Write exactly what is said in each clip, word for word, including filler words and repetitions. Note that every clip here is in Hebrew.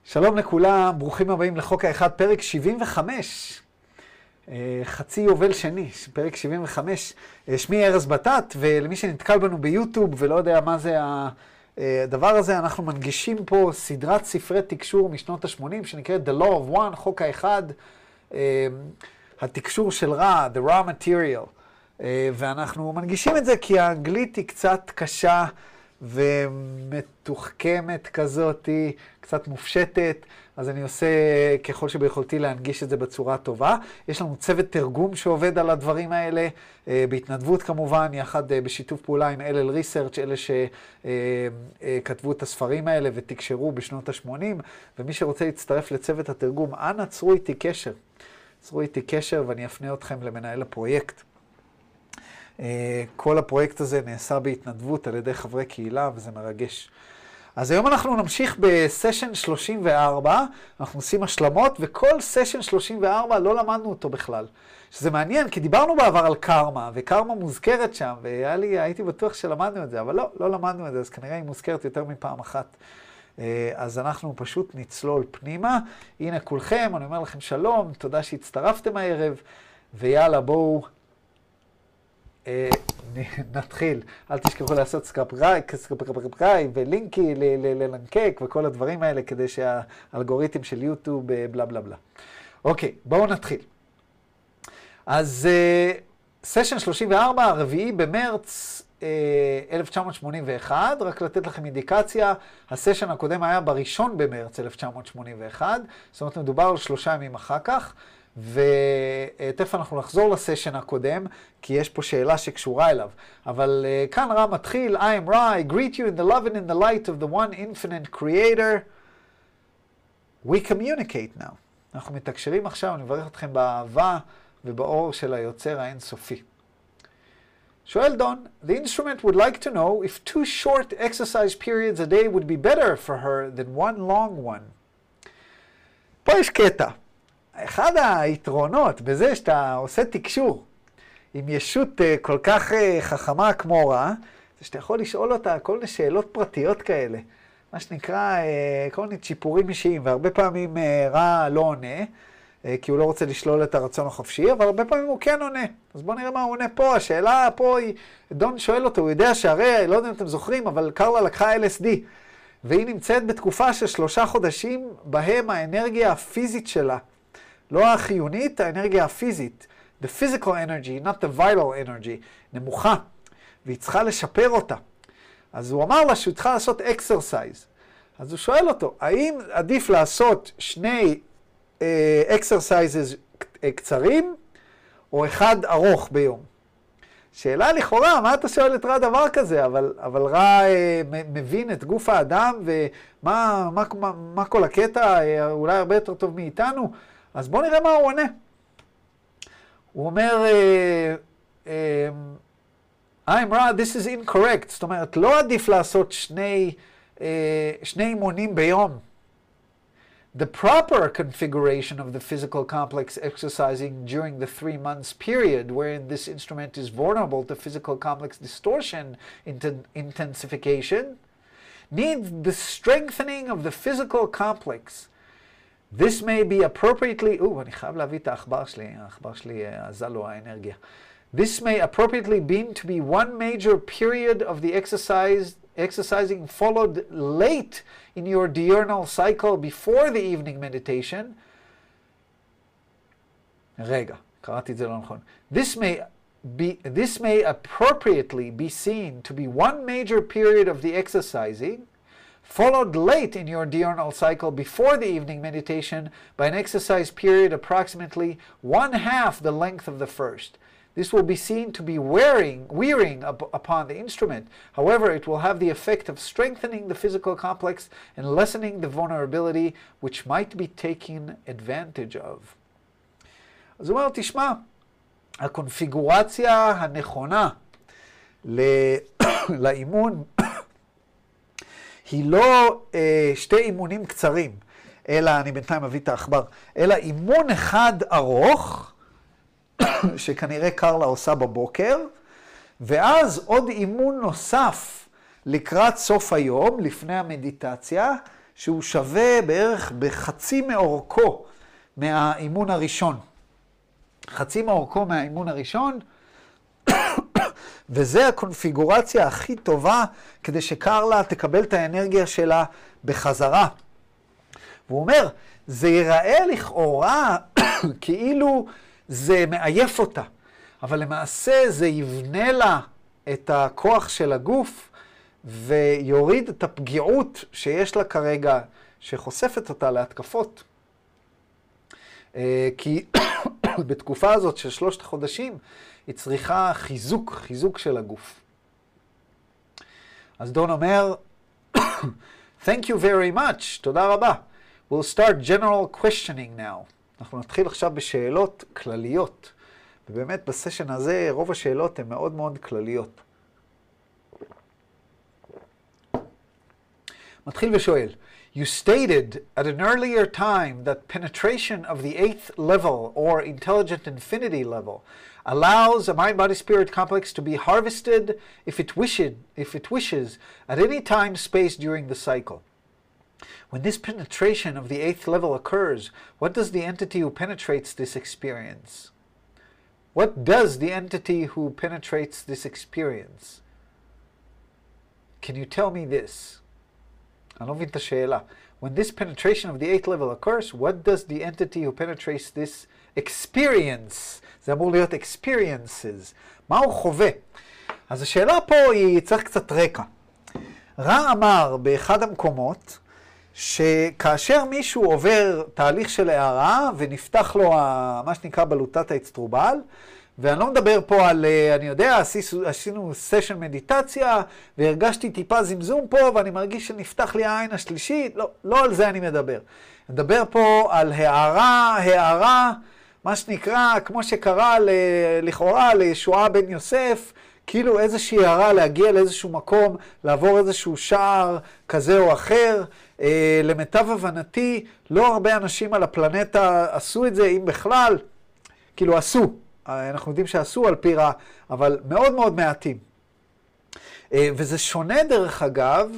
שלום לכולם, ברוכים הבאים לחוק האחד, פרק שבעים וחמש. חצי יובל שני, פרק שבעים וחמש. שמי ארז בטט, ולמי שנתקל בנו ביוטיוב ולא יודע מה זה הדבר הזה, אנחנו מנגישים פה סדרת ספרי תקשור משנות ה-שמונים, שנקראת The Law of One, חוק האחד, התקשור של רע, The Raw Material. ואנחנו מנגישים את זה כי האנגלית היא קצת קשה ומתוחכמת כזאת, קצת מופשטת, אז אני עושה ככל שביכולתי להנגיש את זה בצורה טובה. יש לנו צוות תרגום שעובד על הדברים האלה, בהתנדבות כמובן, יחד בשיתוף פעולה עם אל אל ריסרצ', אלה שכתבו את הספרים האלה ותקשרו בשנות ה-שמונים, ומי שרוצה להצטרף לצוות התרגום, אנא צרו איתי קשר. צרו איתי קשר ואני אפנה אתכם למנהל הפרויקט. כל הפרויקט הזה נעשה בהתנדבות על ידי חברי קהילה, וזה מרגש. אז היום אנחנו נמשיך בסשן שלושים וארבע, אנחנו עושים השלמות, וכל סשן שלושים וארבע לא למדנו אותו בכלל. שזה מעניין, כי דיברנו בעבר על קרמה, וקרמה מוזכרת שם, והייתי בטוח שלמדנו את זה, אבל לא, לא למדנו את זה, אז כנראה היא מוזכרת יותר מפעם אחת. אז אנחנו פשוט נצלול פנימה. הנה כולכם, אני אומר לכם שלום, תודה שהצטרפתם הערב, ויאללה בואו. נתחיל. אל תשכחו לעשות סקרפרייב ולינקי ללנקק וכל הדברים האלה כדי שהאלגוריתם של יוטיוב בלה בלה בלה. אוקיי, בואו נתחיל. אז סשן שלושים וארבע, הרביעי במרץ אלף תשע מאות שמונים ואחת, רק לתת לכם אינדיקציה, הסשן הקודם היה בראשון במרץ אלף תשע מאות שמונים ואחת, זאת אומרת מדובר על שלושה ימים אחר כך, ותכף אנחנו נחזור לסשן הקודם, כי יש פה שאלה שקשורה אליו. אבל uh, כאן רע מתחיל, I am Ra, I greet you in the love and in the light of the one infinite creator. We communicate now. אנחנו מתקשרים עכשיו, אני מברך אתכם באהבה ובאור של היוצר האינסופי. שואל דון, the instrument would like to know if two short exercise periods a day would be better for her than one long one. פה יש קטע. אחד היתרונות בזה שאתה עושה תקשור עם ישות כל כך חכמה כמו רע, זה שאתה יכול לשאול אותה כל מיני שאלות פרטיות כאלה, מה שנקרא כל מיני צ'יפורים אישיים, והרבה פעמים רע לא עונה, כי הוא לא רוצה לשלול את הרצון החופשי, אבל הרבה פעמים הוא כן עונה. אז בואו נראה מה הוא עונה פה. השאלה פה היא, דון שואל אותו, הוא יודע שהרי, לא יודע אם אתם זוכרים, אבל קרלה לקחה אל אס די, והיא נמצאת בתקופה של שלושה חודשים, בהם האנרגיה הפיזית שלה, לא החיונית, האנרגיה הפיזית, the physical energy, not the vital energy, נמוכה, והיא צריכה לשפר אותה. אז הוא אמר לה שהוא צריכה לעשות exercise. אז הוא שואל אותו, האם עדיף לעשות שני uh, exercises קצרים, או אחד ארוך ביום? שאלה לכאורה, מה אתה שואל את רע דבר כזה? אבל, אבל רע uh, מבין את גוף האדם, ומה מה, מה, מה כל הקטע, uh, אולי הרבה יותר טוב מאיתנו, אז בואו נראה מה הוא עונה. הוא אומר, I'm right, this is incorrect. זאת אומרת, לא עדיף לעשות שני, שני אימונים ביום. The proper configuration of the physical complex exercising during the three months period wherein this instrument is vulnerable to physical complex distortion intensification needs the strengthening of the physical complex. This may be appropriately, או, אני חייב להביא את האחבר שלי, האחבר שלי עזה לו האנרגיה. This may appropriately be to be one major period of the exercise, exercising followed late in your diurnal cycle before the evening meditation. רגע, קראתי את זה לא נכון. This may be, this may appropriately be seen to be one major period of the exercising, followed late in your diurnal cycle before the evening meditation by an exercise period approximately one half the length of the first. This will be seen to be wearing, wearing up upon the instrument. However, it will have the effect of strengthening the physical complex and lessening the vulnerability which might be taken advantage of. אז הוא אומר, תשמע, הקונפיגורציה הנכונה לאימון היא לא אה, שתי אימונים קצרים, אלא, אני בינתיים מביא את האחבר, אלא אימון אחד ארוך, שכנראה קרלה עושה בבוקר, ואז עוד אימון נוסף לקראת סוף היום, לפני המדיטציה, שהוא שווה בערך בחצי מאורכו מהאימון הראשון. חצי מאורכו מהאימון הראשון, וזה הקונפיגורציה הכי טובה כדי שקרלה תקבל את האנרגיה שלה בחזרה. והוא אומר, זה ייראה לכאורה כאילו זה מעייף אותה, אבל למעשה זה יבנה לה את הכוח של הגוף ויוריד את הפגיעות שיש לה כרגע, שחושפת אותה להתקפות. כי בתקופה הזאת של שלושת החודשים היא צריכה חיזוק, חיזוק של הגוף. אז דון אומר, Thank you very much, תודה רבה. We'll start general questioning now. אנחנו נתחיל עכשיו בשאלות כלליות. ובאמת בסשן הזה רוב השאלות הן מאוד מאוד כלליות. מתחיל ושואל, You stated at an earlier time that penetration of the eighth level or intelligent infinity level allows a mind-body-spirit complex to be harvested if it wishes, if it wishes at any time space during the cycle. When this penetration of the eighth level occurs, what does the entity who penetrates this experience? What does the entity who penetrates this experience? Can you tell me this? אני לא מבין את השאלה. When this penetration of the eighth level occurs, what does the entity who penetrates this experience? זה אמור להיות experiences. מה הוא חווה? אז השאלה פה היא, צריך קצת רקע. רע אמר באחד המקומות, שכאשר מישהו עובר תהליך של הערה, ונפתח לו מה שנקרא בלוטת האצטרובל, ואני לא מדבר פה על, אני יודע, עשינו סשן מדיטציה, והרגשתי טיפה זמזום פה, ואני מרגיש שנפתח לי העין השלישית, לא, לא על זה אני מדבר. אני מדבר פה על הערה, הערה, מה שנקרא, כמו שקרה לכאורה לישועה בן יוסף, כאילו איזושהי הערה להגיע לאיזשהו מקום, לעבור איזשהו שער כזה או אחר. למיטב הבנתי, לא הרבה אנשים על הפלנטה עשו את זה, אם בכלל, כאילו עשו. אנחנו יודעים שעשו על פי רע, אבל מאוד מאוד מעטים. וזה שונה דרך אגב,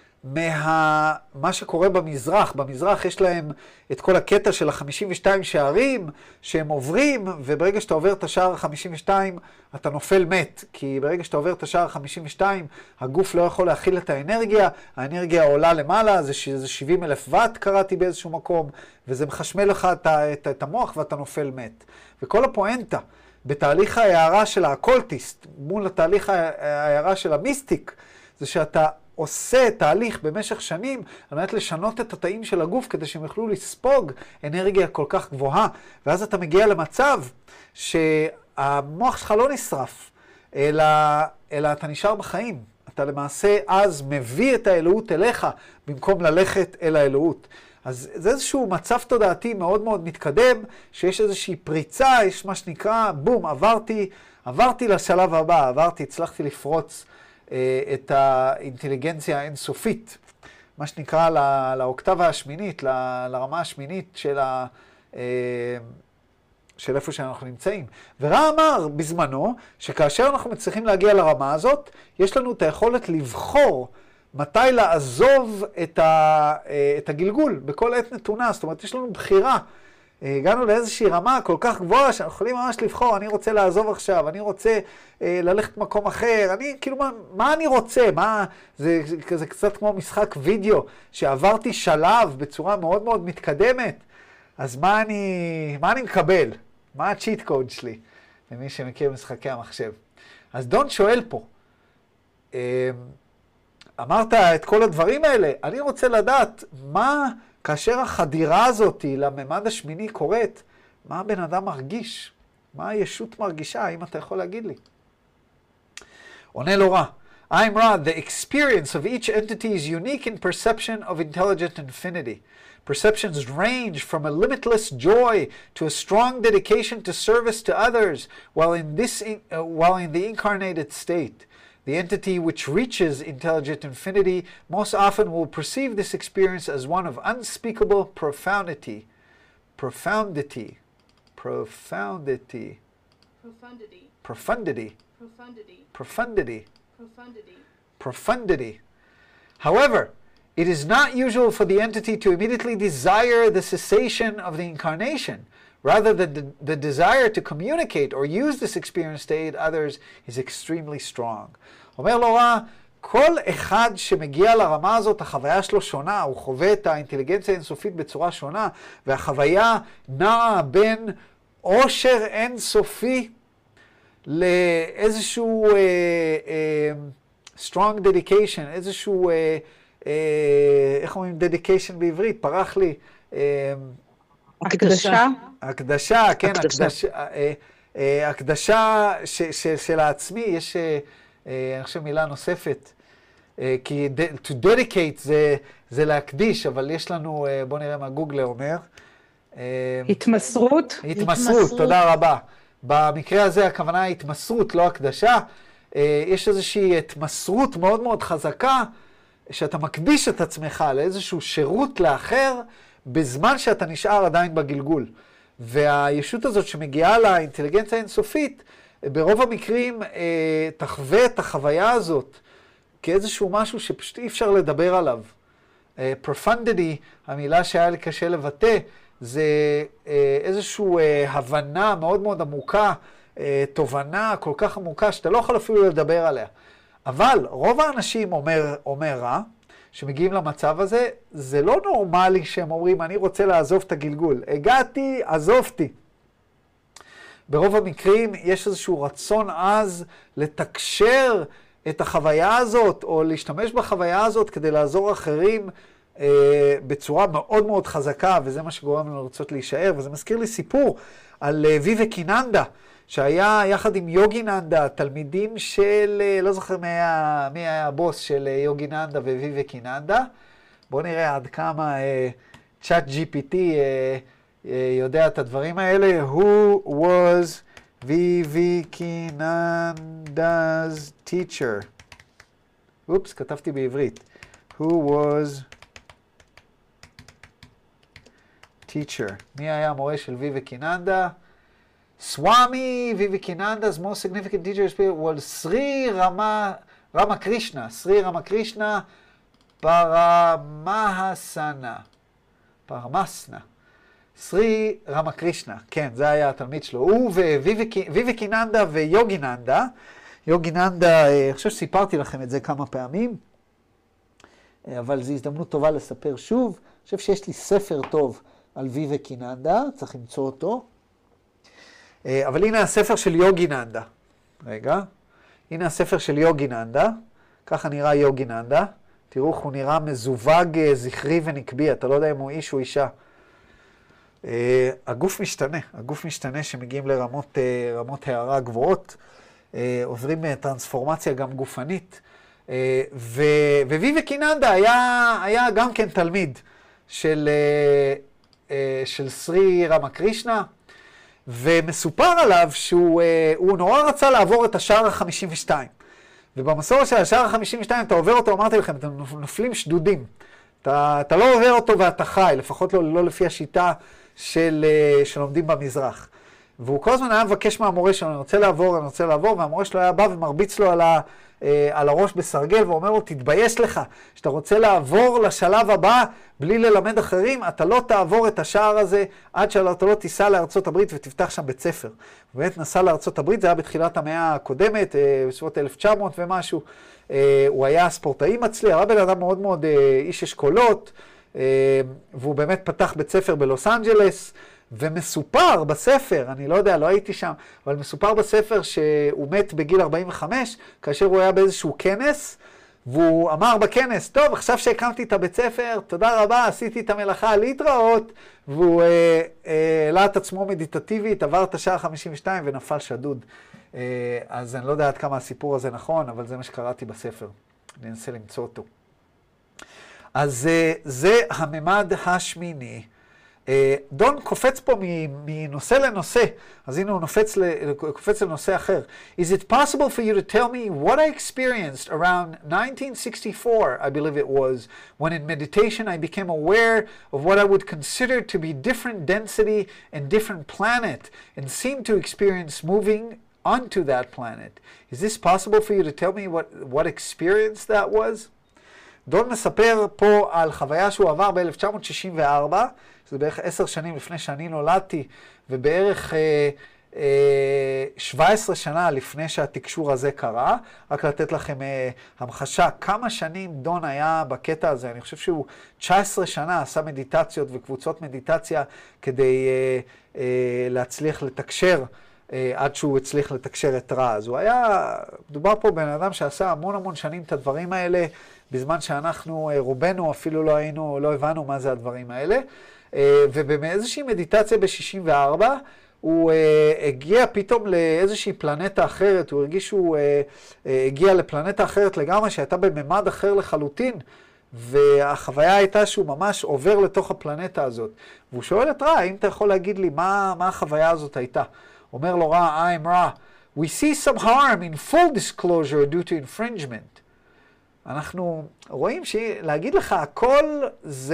מה מה שקורה במזרח. במזרח יש להם את כל הקטע של ה-חמישים ושתיים שערים שהם עוברים, וברגע שאתה עובר את השער ה-חמישים ושתיים אתה נופל מת, כי ברגע שאתה עובר את השער ה-חמישים ושתיים הגוף לא יכול להכיל את האנרגיה, האנרגיה עולה למעלה, זה, זה שבעים אלף וואט קראתי באיזשהו מקום, וזה מחשמל לך את, את, את המוח ואתה נופל מת. וכל הפואנטה בתהליך ההערה של האקולטיסט מול התהליך ההערה של המיסטיק, זה שאתה עושה תהליך במשך שנים על מנת לשנות את התאים של הגוף כדי שהם יוכלו לספוג אנרגיה כל כך גבוהה, ואז אתה מגיע למצב שהמוח שלך לא נשרף, אלא, אלא אתה נשאר בחיים. אתה למעשה אז מביא את האלוהות אליך במקום ללכת אל האלוהות. אז זה איזשהו מצב תודעתי מאוד מאוד מתקדם, שיש איזושהי פריצה, יש מה שנקרא, בום, עברתי, עברתי לשלב הבא, עברתי, הצלחתי לפרוץ את האינטליגנציה האינסופית, מה שנקרא לא, לאוקטבה השמינית, ל, לרמה השמינית של, ה, של איפה שאנחנו נמצאים. ורע אמר בזמנו, שכאשר אנחנו מצליחים להגיע לרמה הזאת, יש לנו את היכולת לבחור מתי לעזוב את, ה, את הגלגול בכל עת נתונה. זאת אומרת, יש לנו בחירה. הגענו לאיזושהי רמה כל כך גבוהה שאנחנו יכולים ממש לבחור, אני רוצה לעזוב עכשיו, אני רוצה אה, ללכת מקום אחר, אני כאילו מה, מה אני רוצה, מה, זה, זה, זה קצת כמו משחק וידאו, שעברתי שלב בצורה מאוד מאוד מתקדמת, אז מה אני, מה אני מקבל? מה הצ'יט קוד שלי? למי שמכיר משחקי המחשב. אז דון שואל פה, אה, אמרת את כל הדברים האלה, אני רוצה לדעת מה, כאשר החדירה הזאת לממד השמיני קורית, מה הבן אדם מרגיש? מה הישות מרגישה? האם אתה יכול להגיד לי? עונה לו רע. I'm Ra, the experience of each entity is unique in perception of intelligent infinity. Perceptions range from a limitless joy to a strong dedication to service to others while in, this, uh, while in the incarnated state. The entity which reaches intelligent infinity most often will perceive this experience as one of unspeakable profundity. Profundity. Profundity. Profundity. Profundity. Profundity. Profundity. Profundity. Profundity. However, it is not usual for the entity to immediately desire the cessation of the incarnation. Rather, the, the, the desire to communicate or use this experience to aid others is extremely strong. אומר לו רע, כל אחד שמגיע לרמה הזאת, החוויה שלו שונה, הוא חווה את האינטליגנציה האינסופית בצורה שונה, והחוויה נעה בין עושר אינסופי לאיזשהו uh, uh, strong dedication, איזשהו, uh, uh, איך אומרים dedication בעברית? פרח לי. Uh, הקדשה. הקדשה, כן, הקדשה. הקדשה של העצמי, יש, אני חושב, מילה נוספת, כי to dedicate זה, זה להקדיש, אבל יש לנו, בוא נראה מה גוגלר אומר. התמסרות. התמסרות, תודה רבה. במקרה הזה הכוונה היא התמסרות, לא הקדשה. יש איזושהי התמסרות מאוד מאוד חזקה, שאתה מקדיש את עצמך לאיזשהו שירות לאחר, בזמן שאתה נשאר עדיין בגלגול. והישות הזאת שמגיעה לאינטליגנציה האינסופית, ברוב המקרים אה, תחווה את החוויה הזאת כאיזשהו משהו שפשוט אי אפשר לדבר עליו. אה, profundity, המילה שהיה לי קשה לבטא, זה אה, איזושהי אה, הבנה מאוד מאוד עמוקה, אה, תובנה כל כך עמוקה שאתה לא יכול אפילו לדבר עליה. אבל רוב האנשים אומר, אומר רע, שמגיעים למצב הזה, זה לא נורמלי שהם אומרים, אני רוצה לעזוב את הגלגול. הגעתי, עזובתי. ברוב המקרים יש איזשהו רצון עז לתקשר את החוויה הזאת, או להשתמש בחוויה הזאת כדי לעזור אחרים אה, בצורה מאוד מאוד חזקה, וזה מה שגורם לנו לרצות להישאר. וזה מזכיר לי סיפור על אה, ויבקיננדה, שהיה יחד עם יוגיננדה, תלמידים של, לא זוכר מי היה, מי היה הבוס של יוגיננדה וויבקיננדה. בואו נראה עד כמה צ'אט ג'י פי טי יודע את הדברים האלה. Who was ויבקיננדה's teacher? אופס, כתבתי בעברית. Who was teacher? מי היה המורה של ויבקיננדה? Swami Vivekananda's most significant teacher was Sri Rama, Ramakrishna. Sri Ramakrishna Paramahasana. Paramasna. Sri Ramakrishna. כן, זה היה התלמיד שלו. הוא וויבקיננדה ויוגיננדה. יוגיננדה, אני חושב שסיפרתי לכם את זה כמה פעמים, אבל זו הזדמנות טובה לספר שוב. אני חושב שיש לי ספר טוב על ויבקיננדה, צריך למצוא אותו. אבל הנה הספר של יוגיננדה. רגע. הנה הספר של יוגיננדה. ככה נראה יוגיננדה. תראו איך הוא נראה מזווג, זכרי ונקבי. אתה לא יודע אם הוא איש או אישה. הגוף משתנה. הגוף משתנה שמגיעים לרמות רמות הערה גבוהות. עוברים טרנספורמציה גם גופנית. וויבקיננדה היה, היה גם כן תלמיד של, של סרי רמקרישנה. ומסופר עליו שהוא הוא נורא רצה לעבור את השער ה-חמישים ושתיים. ובמסורת של השער ה-חמישים ושתיים, אתה עובר אותו, אמרתי לכם, אתם נופלים שדודים. אתה, אתה לא עובר אותו ואתה חי, לפחות לא, לא לפי השיטה של, שלומדים במזרח. והוא כל הזמן היה מבקש מהמורה שלו, אני רוצה לעבור, אני רוצה לעבור, והמורה שלו היה בא ומרביץ לו על, ה, על הראש בסרגל, ואומר לו, תתבייש לך, שאתה רוצה לעבור לשלב הבא בלי ללמד אחרים, אתה לא תעבור את השער הזה עד שאתה לא תיסע לארצות הברית ותפתח שם בית ספר. הוא באמת נסע לארצות הברית, זה היה בתחילת המאה הקודמת, בסביבות אלף תשע מאות ומשהו. הוא היה ספורטאי מצליח, היה בן אדם מאוד מאוד איש אשכולות, והוא באמת פתח בית ספר בלוס אנג'לס, ומסופר בספר, אני לא יודע, לא הייתי שם, אבל מסופר בספר שהוא מת בגיל ארבעים וחמש, כאשר הוא היה באיזשהו כנס, והוא אמר בכנס, טוב, עכשיו שהקמתי את הבית ספר, תודה רבה, עשיתי את המלאכה להתראות, והוא העלה את עצמו מדיטטיבית, עבר את השעה חמישים ושתיים ונפל שדוד. אה, אז אני לא יודע עד כמה הסיפור הזה נכון, אבל זה מה שקראתי בספר. אני אנסה למצוא אותו. אז אה, זה הממד השמיני. דון קופץ פה מנושא לנושא, אז הנה הוא קופץ לנושא אחר. Is it possible for you to tell me what I experienced around nineteen sixty-four, I believe it was, when in meditation I became aware of what I would consider to be different density and different planet and seemed to experience moving onto that planet. Is this possible for you to tell me what, what experience that was? דון מספר פה על חוויה שהוא עבר ב-אלף תשע מאות שישים וארבע, שזה בערך עשר שנים לפני שאני נולדתי, ובערך אה, אה, שבע עשרה שנה לפני שהתקשור הזה קרה. רק לתת לכם אה, המחשה, כמה שנים דון היה בקטע הזה. אני חושב שהוא תשע עשרה שנה עשה מדיטציות וקבוצות מדיטציה כדי אה, אה, להצליח לתקשר, עד שהוא הצליח לתקשר את רע. אז הוא היה, מדובר פה בן אדם שעשה המון המון שנים את הדברים האלה, בזמן שאנחנו, רובנו אפילו לא היינו, לא הבנו מה זה הדברים האלה. ובאיזושהי מדיטציה ב-שישים וארבע, הוא הגיע פתאום לאיזושהי פלנטה אחרת, הוא הרגיש שהוא הגיע לפלנטה אחרת לגמרי, שהייתה בממד אחר לחלוטין, והחוויה הייתה שהוא ממש עובר לתוך הפלנטה הזאת. והוא שואל את רע, האם אתה יכול להגיד לי מה, מה החוויה הזאת הייתה? אומר לו רע, I'm רע. We see some harm in full disclosure due to infringement. אנחנו רואים שלהגיד לך הכל זה,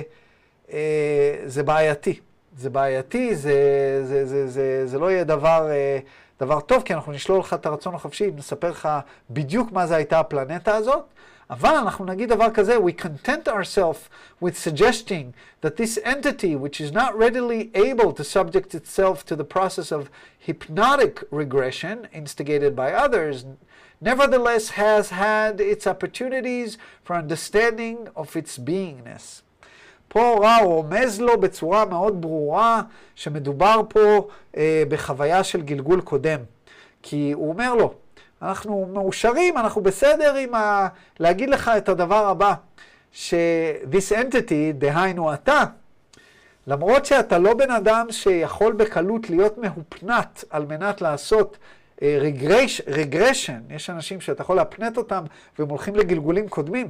אה, זה בעייתי. זה בעייתי, זה, זה, זה, זה, זה לא יהיה דבר, אה, דבר טוב, כי אנחנו נשלול לך את הרצון החופשי, נספר לך בדיוק מה זה הייתה הפלנטה הזאת. אבל אנחנו נגיד דבר כזה, we content ourselves with suggesting that this entity, which is not readily able to subject itself to the process of hypnotic regression instigated by others, nevertheless has had its opportunities for understanding of its beingness. פה רע רומז לו בצורה מאוד ברורה שמדובר פה אה, בחוויה של גלגול קודם. כי הוא אומר לו, אנחנו מאושרים, אנחנו בסדר עם ה... להגיד לך את הדבר הבא, ש-this entity, דהיינו אתה, למרות שאתה לא בן אדם שיכול בקלות להיות מהופנת על מנת לעשות uh, regression, regression, יש אנשים שאתה יכול להפנט אותם והם הולכים לגלגולים קודמים.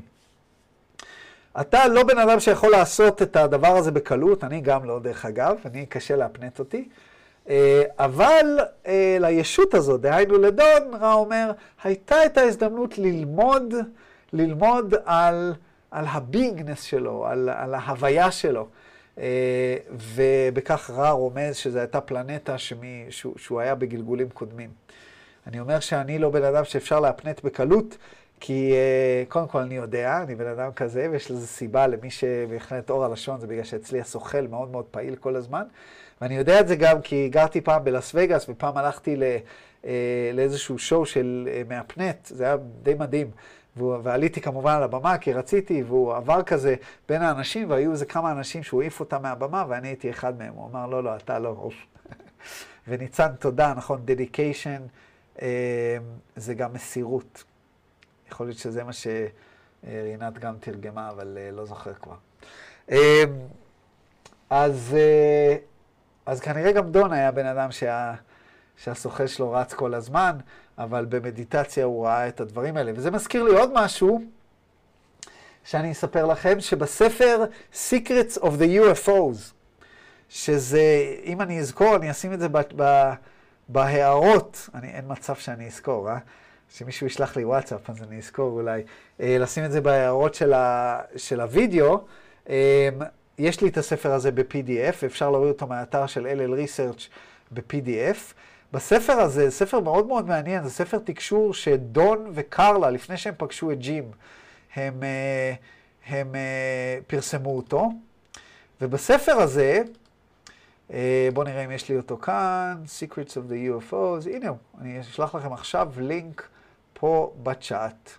אתה לא בן אדם שיכול לעשות את הדבר הזה בקלות, אני גם לא דרך אגב, אני קשה להפנט אותי. אבל לישות הזאת, דהיינו לדון, רע אומר, הייתה את ההזדמנות ללמוד, ללמוד על, על הביגנס שלו, על, על ההוויה שלו. ובכך רע רומז שזו הייתה פלנטה שמי, שהוא, שהוא היה בגלגולים קודמים. אני אומר שאני לא בן אדם שאפשר להפנט בקלות, כי קודם כל אני יודע, אני בן אדם כזה, ויש לזה סיבה למי שבהחלט אור הלשון, זה בגלל שאצלי הסוכל מאוד מאוד פעיל כל הזמן. ואני יודע את זה גם כי גרתי פעם בלאס וגאס, ופעם הלכתי לא, לאיזשהו שואו של מאפנט, זה היה די מדהים. ועליתי כמובן על הבמה כי רציתי, והוא עבר כזה בין האנשים, והיו איזה כמה אנשים שהוא העיף אותם מהבמה, ואני הייתי אחד מהם. הוא אמר, לא, לא, אתה לא. וניצן, תודה, נכון, dedication, זה גם מסירות. יכול להיות שזה מה שרינת גם תרגמה, אבל לא זוכר כבר. אז, אז כנראה גם דון היה בן אדם שה, שהסוחל שלו רץ כל הזמן, אבל במדיטציה הוא ראה את הדברים האלה. וזה מזכיר לי עוד משהו שאני אספר לכם, שבספר Secrets of the יו אף או'ס, שזה, אם אני אזכור, אני אשים את זה ב, ב, בהערות, אני, אין מצב שאני אזכור, אה? שמישהו ישלח לי וואטסאפ, אז אני אזכור אולי, אה, לשים את זה בהערות של, ה, של הוידאו. אה, יש לי את הספר הזה ב-פי די אף, אפשר להוריד אותו מהאתר של אל אל Research ב-פי די אף. בספר הזה, ספר מאוד מאוד מעניין, זה ספר תקשור שדון וקרלה, לפני שהם פגשו את ג'ים, הם, הם, הם פרסמו אותו. ובספר הזה, בואו נראה אם יש לי אותו כאן, Secrets of the יו אף או'ס, הנה הוא, אני אשלח לכם עכשיו לינק פה בצ'אט.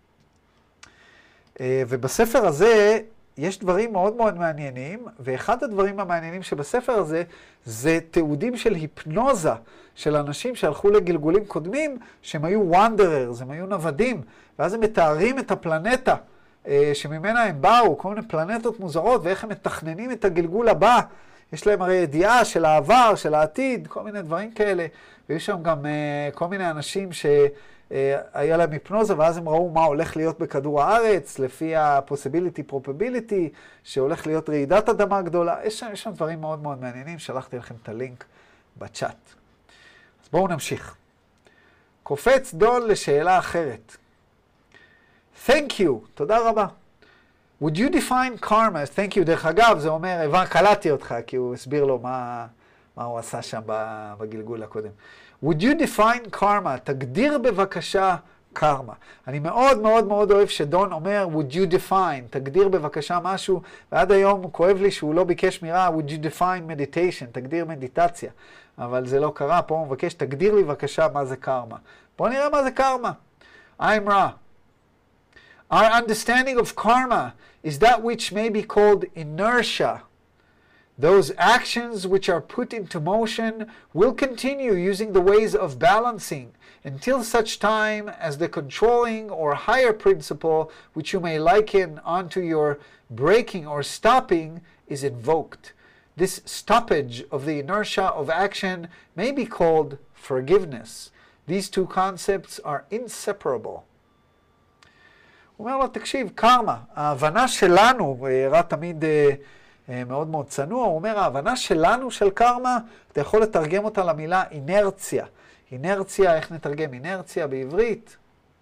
ובספר הזה יש דברים מאוד מאוד מעניינים, ואחד הדברים המעניינים שבספר הזה, זה תיעודים של היפנוזה של אנשים שהלכו לגלגולים קודמים, שהם היו wanderers, הם היו נוודים, ואז הם מתארים את הפלנטה שממנה הם באו, כל מיני פלנטות מוזרות, ואיך הם מתכננים את הגלגול הבא. יש להם הרי ידיעה של העבר, של העתיד, כל מיני דברים כאלה, ויש שם גם uh, כל מיני אנשים שהיה להם היפנוזה, ואז הם ראו מה הולך להיות בכדור הארץ, לפי ה-possibility, probability, שהולך להיות רעידת אדמה גדולה. יש שם, יש שם דברים מאוד מאוד מעניינים, שלחתי לכם את הלינק בצ'אט. אז בואו נמשיך. קופץ דון לשאלה אחרת. Thank you, תודה רבה. Would you define karma? Thank you, דרך אגב, זה אומר, הבא, קלטתי אותך, כי הוא הסביר לו מה, מה הוא עשה שם בגלגול הקודם. Would you define karma? תגדיר בבקשה קרמה. אני מאוד מאוד מאוד אוהב שדון אומר, would you define, תגדיר בבקשה משהו, ועד היום הוא כואב לי שהוא לא ביקש מירה, would you define meditation, תגדיר מדיטציה. אבל זה לא קרה, פה הוא מבקש, תגדיר לי בבקשה מה זה קרמה. בואו נראה מה זה קרמה. I'm Ra. Our understanding of karma is that which may be called inertia. Those actions which are put into motion will continue using the ways of balancing until such time as the controlling or higher principle, which you may liken onto your breaking or stopping, is invoked. This stoppage of the inertia of action may be called forgiveness. These two concepts are inseparable. הוא אומר לו, תקשיב, קרמה, ההבנה שלנו, ראה תמיד מאוד מאוד צנוע, הוא אומר, ההבנה שלנו של קרמה, אתה יכול לתרגם אותה למילה אינרציה. אינרציה, איך נתרגם אינרציה בעברית?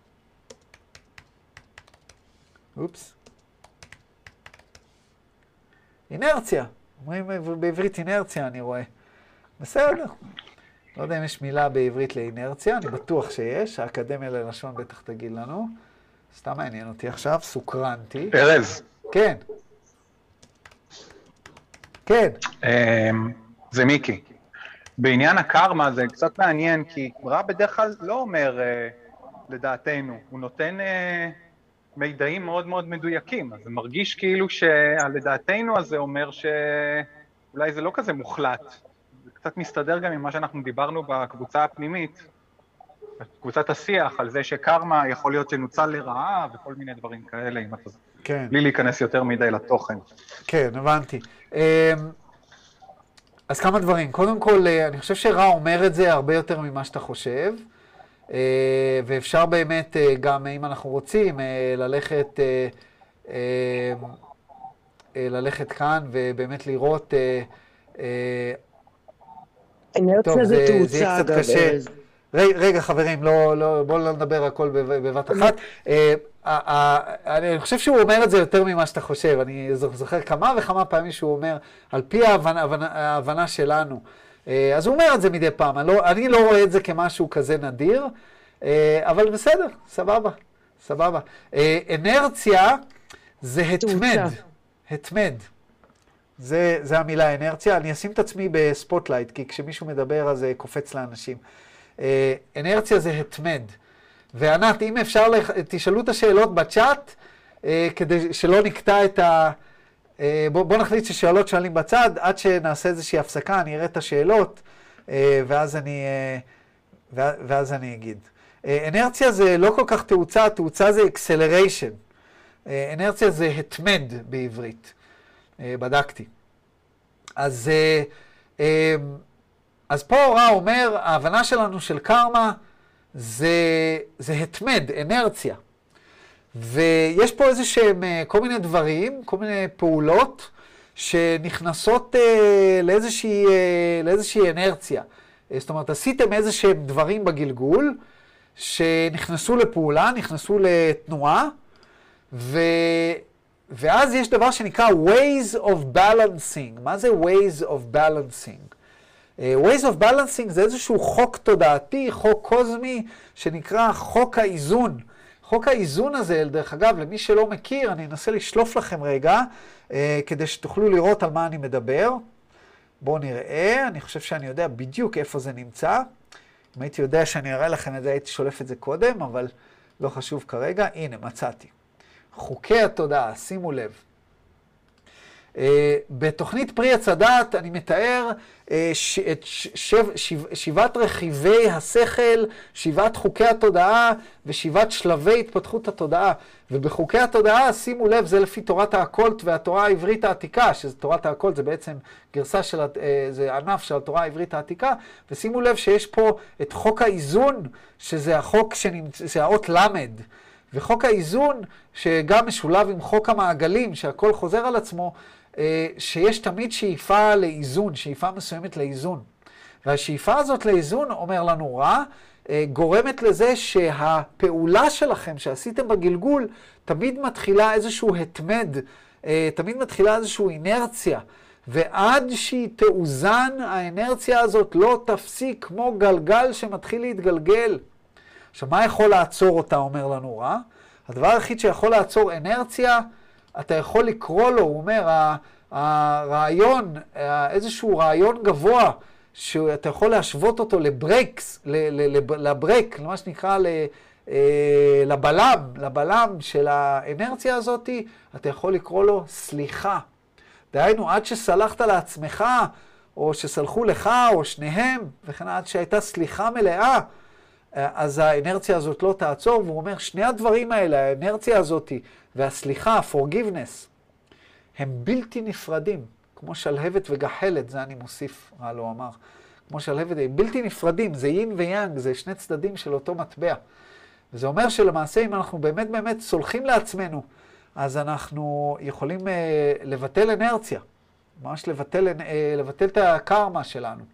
אופס. אינרציה. אומרים בעברית אינרציה, אני רואה. בסדר. לא יודע אם יש מילה בעברית לאינרציה, אני בטוח שיש. האקדמיה ללשון בטח תגיד לנו. סתם מעניין אותי עכשיו, סוקרנתי. ארז. כן. כן. זה מיקי. בעניין הקרמה זה קצת מעניין, כי רע בדרך כלל לא אומר לדעתנו, הוא נותן מידעים מאוד מאוד מדויקים, אז זה מרגיש כאילו שהלדעתנו הזה אומר שאולי זה לא כזה מוחלט. זה קצת מסתדר גם עם מה שאנחנו דיברנו בקבוצה הפנימית, קבוצת השיח, על זה שקרמה יכול להיות שנוצל לרעה וכל מיני דברים כאלה, אם אתה... כן. בלי להיכנס יותר מדי לתוכן. כן, הבנתי. אז כמה דברים. קודם כל, אני חושב שרע אומר את זה הרבה יותר ממה שאתה חושב, ואפשר באמת גם, אם אנחנו רוצים, ללכת, ללכת כאן ובאמת לראות... אינרציה זה תאוצה, אגב. רגע, חברים, לא, לא, בואו לא נדבר הכל בבת אחת. אני חושב שהוא אומר את זה יותר ממה שאתה חושב. אני זוכר כמה וכמה פעמים שהוא אומר, על פי ההבנה שלנו. אז הוא אומר את זה מדי פעם. אני לא רואה את זה כמשהו כזה נדיר, אבל בסדר, סבבה, סבבה. אנרציה זה התמד. התמד. זה, זה המילה אנרציה. אני אשים את עצמי בספוטלייט, כי כשמישהו מדבר אז זה קופץ לאנשים. אנרציה זה התמד. וענת, אם אפשר, תשאלו את השאלות בצ'אט, כדי שלא נקטע את ה... בוא, בוא נחליט ששאלות שואלים בצד, עד שנעשה איזושהי הפסקה, אני אראה את השאלות, ואז אני, ואז אני אגיד. אנרציה זה לא כל כך תאוצה, תאוצה זה acceleration. אנרציה זה התמד בעברית. בדקתי. אז, אז פה רע אומר, ההבנה שלנו של קרמה זה, זה התמד, אנרציה. ויש פה איזה שהם כל מיני דברים, כל מיני פעולות, שנכנסות לאיזושהי, לאיזושהי אנרציה. זאת אומרת, עשיתם איזה שהם דברים בגלגול, שנכנסו לפעולה, נכנסו לתנועה, ו... ואז יש דבר שנקרא ways of balancing. מה זה ways of balancing? Uh, ways of balancing זה איזשהו חוק תודעתי, חוק קוזמי, שנקרא חוק האיזון. חוק האיזון הזה, דרך אגב, למי שלא מכיר, אני אנסה לשלוף לכם רגע, uh, כדי שתוכלו לראות על מה אני מדבר. בואו נראה, אני חושב שאני יודע בדיוק איפה זה נמצא. אם הייתי יודע שאני אראה לכם את זה, הייתי שולף את זה קודם, אבל לא חשוב כרגע. הנה, מצאתי. חוקי התודעה, שימו לב. Uh, בתוכנית פרי עץ הדעת אני מתאר uh, ש, את ש, שב, שב, שבעת רכיבי השכל, שבעת חוקי התודעה ושבעת שלבי התפתחות התודעה. ובחוקי התודעה, שימו לב, זה לפי תורת האקולט והתורה העברית העתיקה, שזה תורת האקולט, זה בעצם גרסה של, uh, זה ענף של התורה העברית העתיקה, ושימו לב שיש פה את חוק האיזון, שזה החוק שנמצא, זה האות למד. וחוק האיזון, שגם משולב עם חוק המעגלים, שהכל חוזר על עצמו, שיש תמיד שאיפה לאיזון, שאיפה מסוימת לאיזון. והשאיפה הזאת לאיזון, אומר לנו רע, גורמת לזה שהפעולה שלכם שעשיתם בגלגול, תמיד מתחילה איזשהו התמד, תמיד מתחילה איזשהו אינרציה. ועד שהיא תאוזן, האנרציה הזאת לא תפסיק כמו גלגל שמתחיל להתגלגל. עכשיו, מה יכול לעצור אותה, אומר לנו רע? הדבר היחיד שיכול לעצור אנרציה, אתה יכול לקרוא לו, הוא אומר, הרעיון, איזשהו רעיון גבוה, שאתה יכול להשוות אותו לברייקס, לברייק, למה שנקרא לבלם, לבלם של האנרציה הזאת, אתה יכול לקרוא לו סליחה. דהיינו, עד שסלחת לעצמך, או שסלחו לך, או שניהם, וכן עד שהייתה סליחה מלאה, אז האנרציה הזאת לא תעצור, והוא אומר, שני הדברים האלה, האנרציה הזאת והסליחה, forgiveness, הם בלתי נפרדים, כמו שלהבת וגחלת, זה אני מוסיף, רע לא אמר, כמו שלהבת, הם בלתי נפרדים, זה יין ויאנג, זה שני צדדים של אותו מטבע. וזה אומר שלמעשה, אם אנחנו באמת באמת סולחים לעצמנו, אז אנחנו יכולים uh, לבטל אנרציה, ממש לבטל, uh, לבטל את הקרמה שלנו.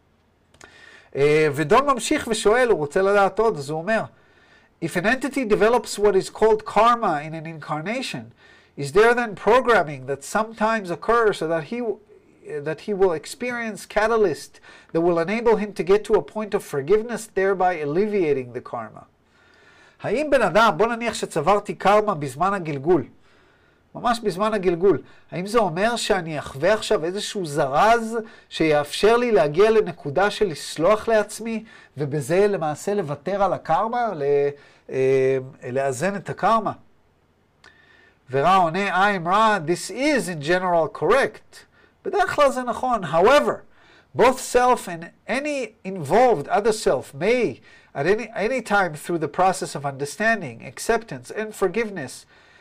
Uh, ודון ממשיך ושואל, הוא רוצה לדעת עוד, אז הוא אומר, If an entity develops what is called karma in an incarnation, is there then programming that sometimes occurs so that he, that he will experience catalyst that will enable him to get to a point of forgiveness, thereby alleviating the karma? האם בן אדם, בוא נניח שצברתי קרמה בזמן הגלגול, ממש בזמן הגלגול, האם זה אומר שאני אחווה עכשיו איזשהו זרז שיאפשר לי להגיע לנקודה של לסלוח לעצמי, ובזה למעשה לוותר על הקרמה, לאזן את הקרמה? ורע עונה, I'm רע, this is in general correct. בדרך כלל זה נכון. However, both self and any involved other self may, at any, any time through the process of understanding, acceptance, and forgiveness,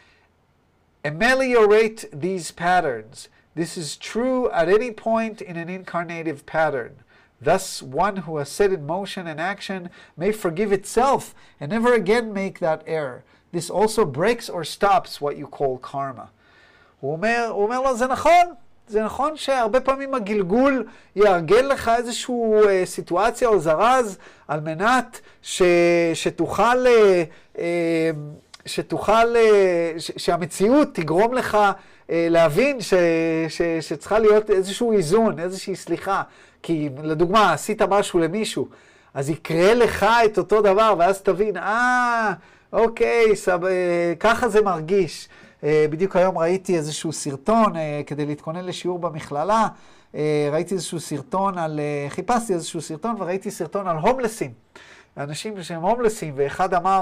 ameliorate these patterns. This is true at any point in an incarnative pattern. Thus, one who has set in motion an action may forgive itself and never again make that error. This also breaks or stops what you call karma. הוא אומר, הוא אומר לו, זה נכון. זה נכון שהרבה פעמים הגלגול יארגן לך איזושהי אה, סיטואציה או זרז על מנת ש, שתוכל, אה, אה, שתוכל, אה, ש, שהמציאות תגרום לך אה, להבין ש, ש, שצריכה להיות איזשהו איזון, איזושהי סליחה. כי לדוגמה, עשית משהו למישהו, אז יקרה לך את אותו דבר, ואז תבין, אה, אוקיי, סב, אה, ככה זה מרגיש. בדיוק היום ראיתי איזשהו סרטון, כדי להתכונן לשיעור במכללה, ראיתי איזשהו סרטון על, חיפשתי איזשהו סרטון וראיתי סרטון על הומלסים, אנשים שהם הומלסים, ואחד אמר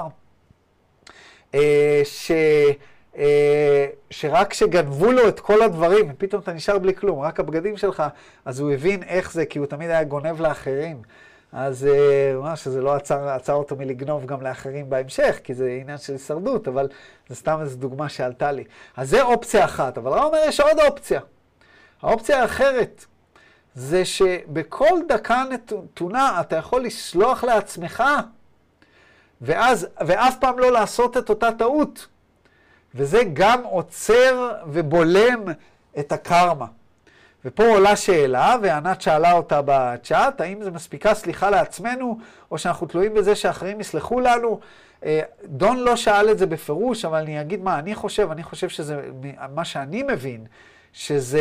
ש, שרק שגנבו לו את כל הדברים, פתאום אתה נשאר בלי כלום, רק הבגדים שלך, אז הוא הבין איך זה, כי הוא תמיד היה גונב לאחרים. אז ממש שזה לא עצר, עצר אותו מלגנוב גם לאחרים בהמשך, כי זה עניין של הישרדות, אבל זה סתם איזו דוגמה שעלתה לי. אז זה אופציה אחת, אבל רע אומר יש עוד אופציה. האופציה האחרת זה שבכל דקה נתונה אתה יכול לסלוח לעצמך, ואז, ואף פעם לא לעשות את אותה טעות. וזה גם עוצר ובולם את הקרמה. ופה עולה שאלה, וענת שאלה אותה בצ'אט, האם זה מספיקה סליחה לעצמנו, או שאנחנו תלויים בזה שאחרים יסלחו לנו. דון לא שאל את זה בפירוש, אבל אני אגיד מה אני חושב, אני חושב שזה, מה שאני מבין, שזה,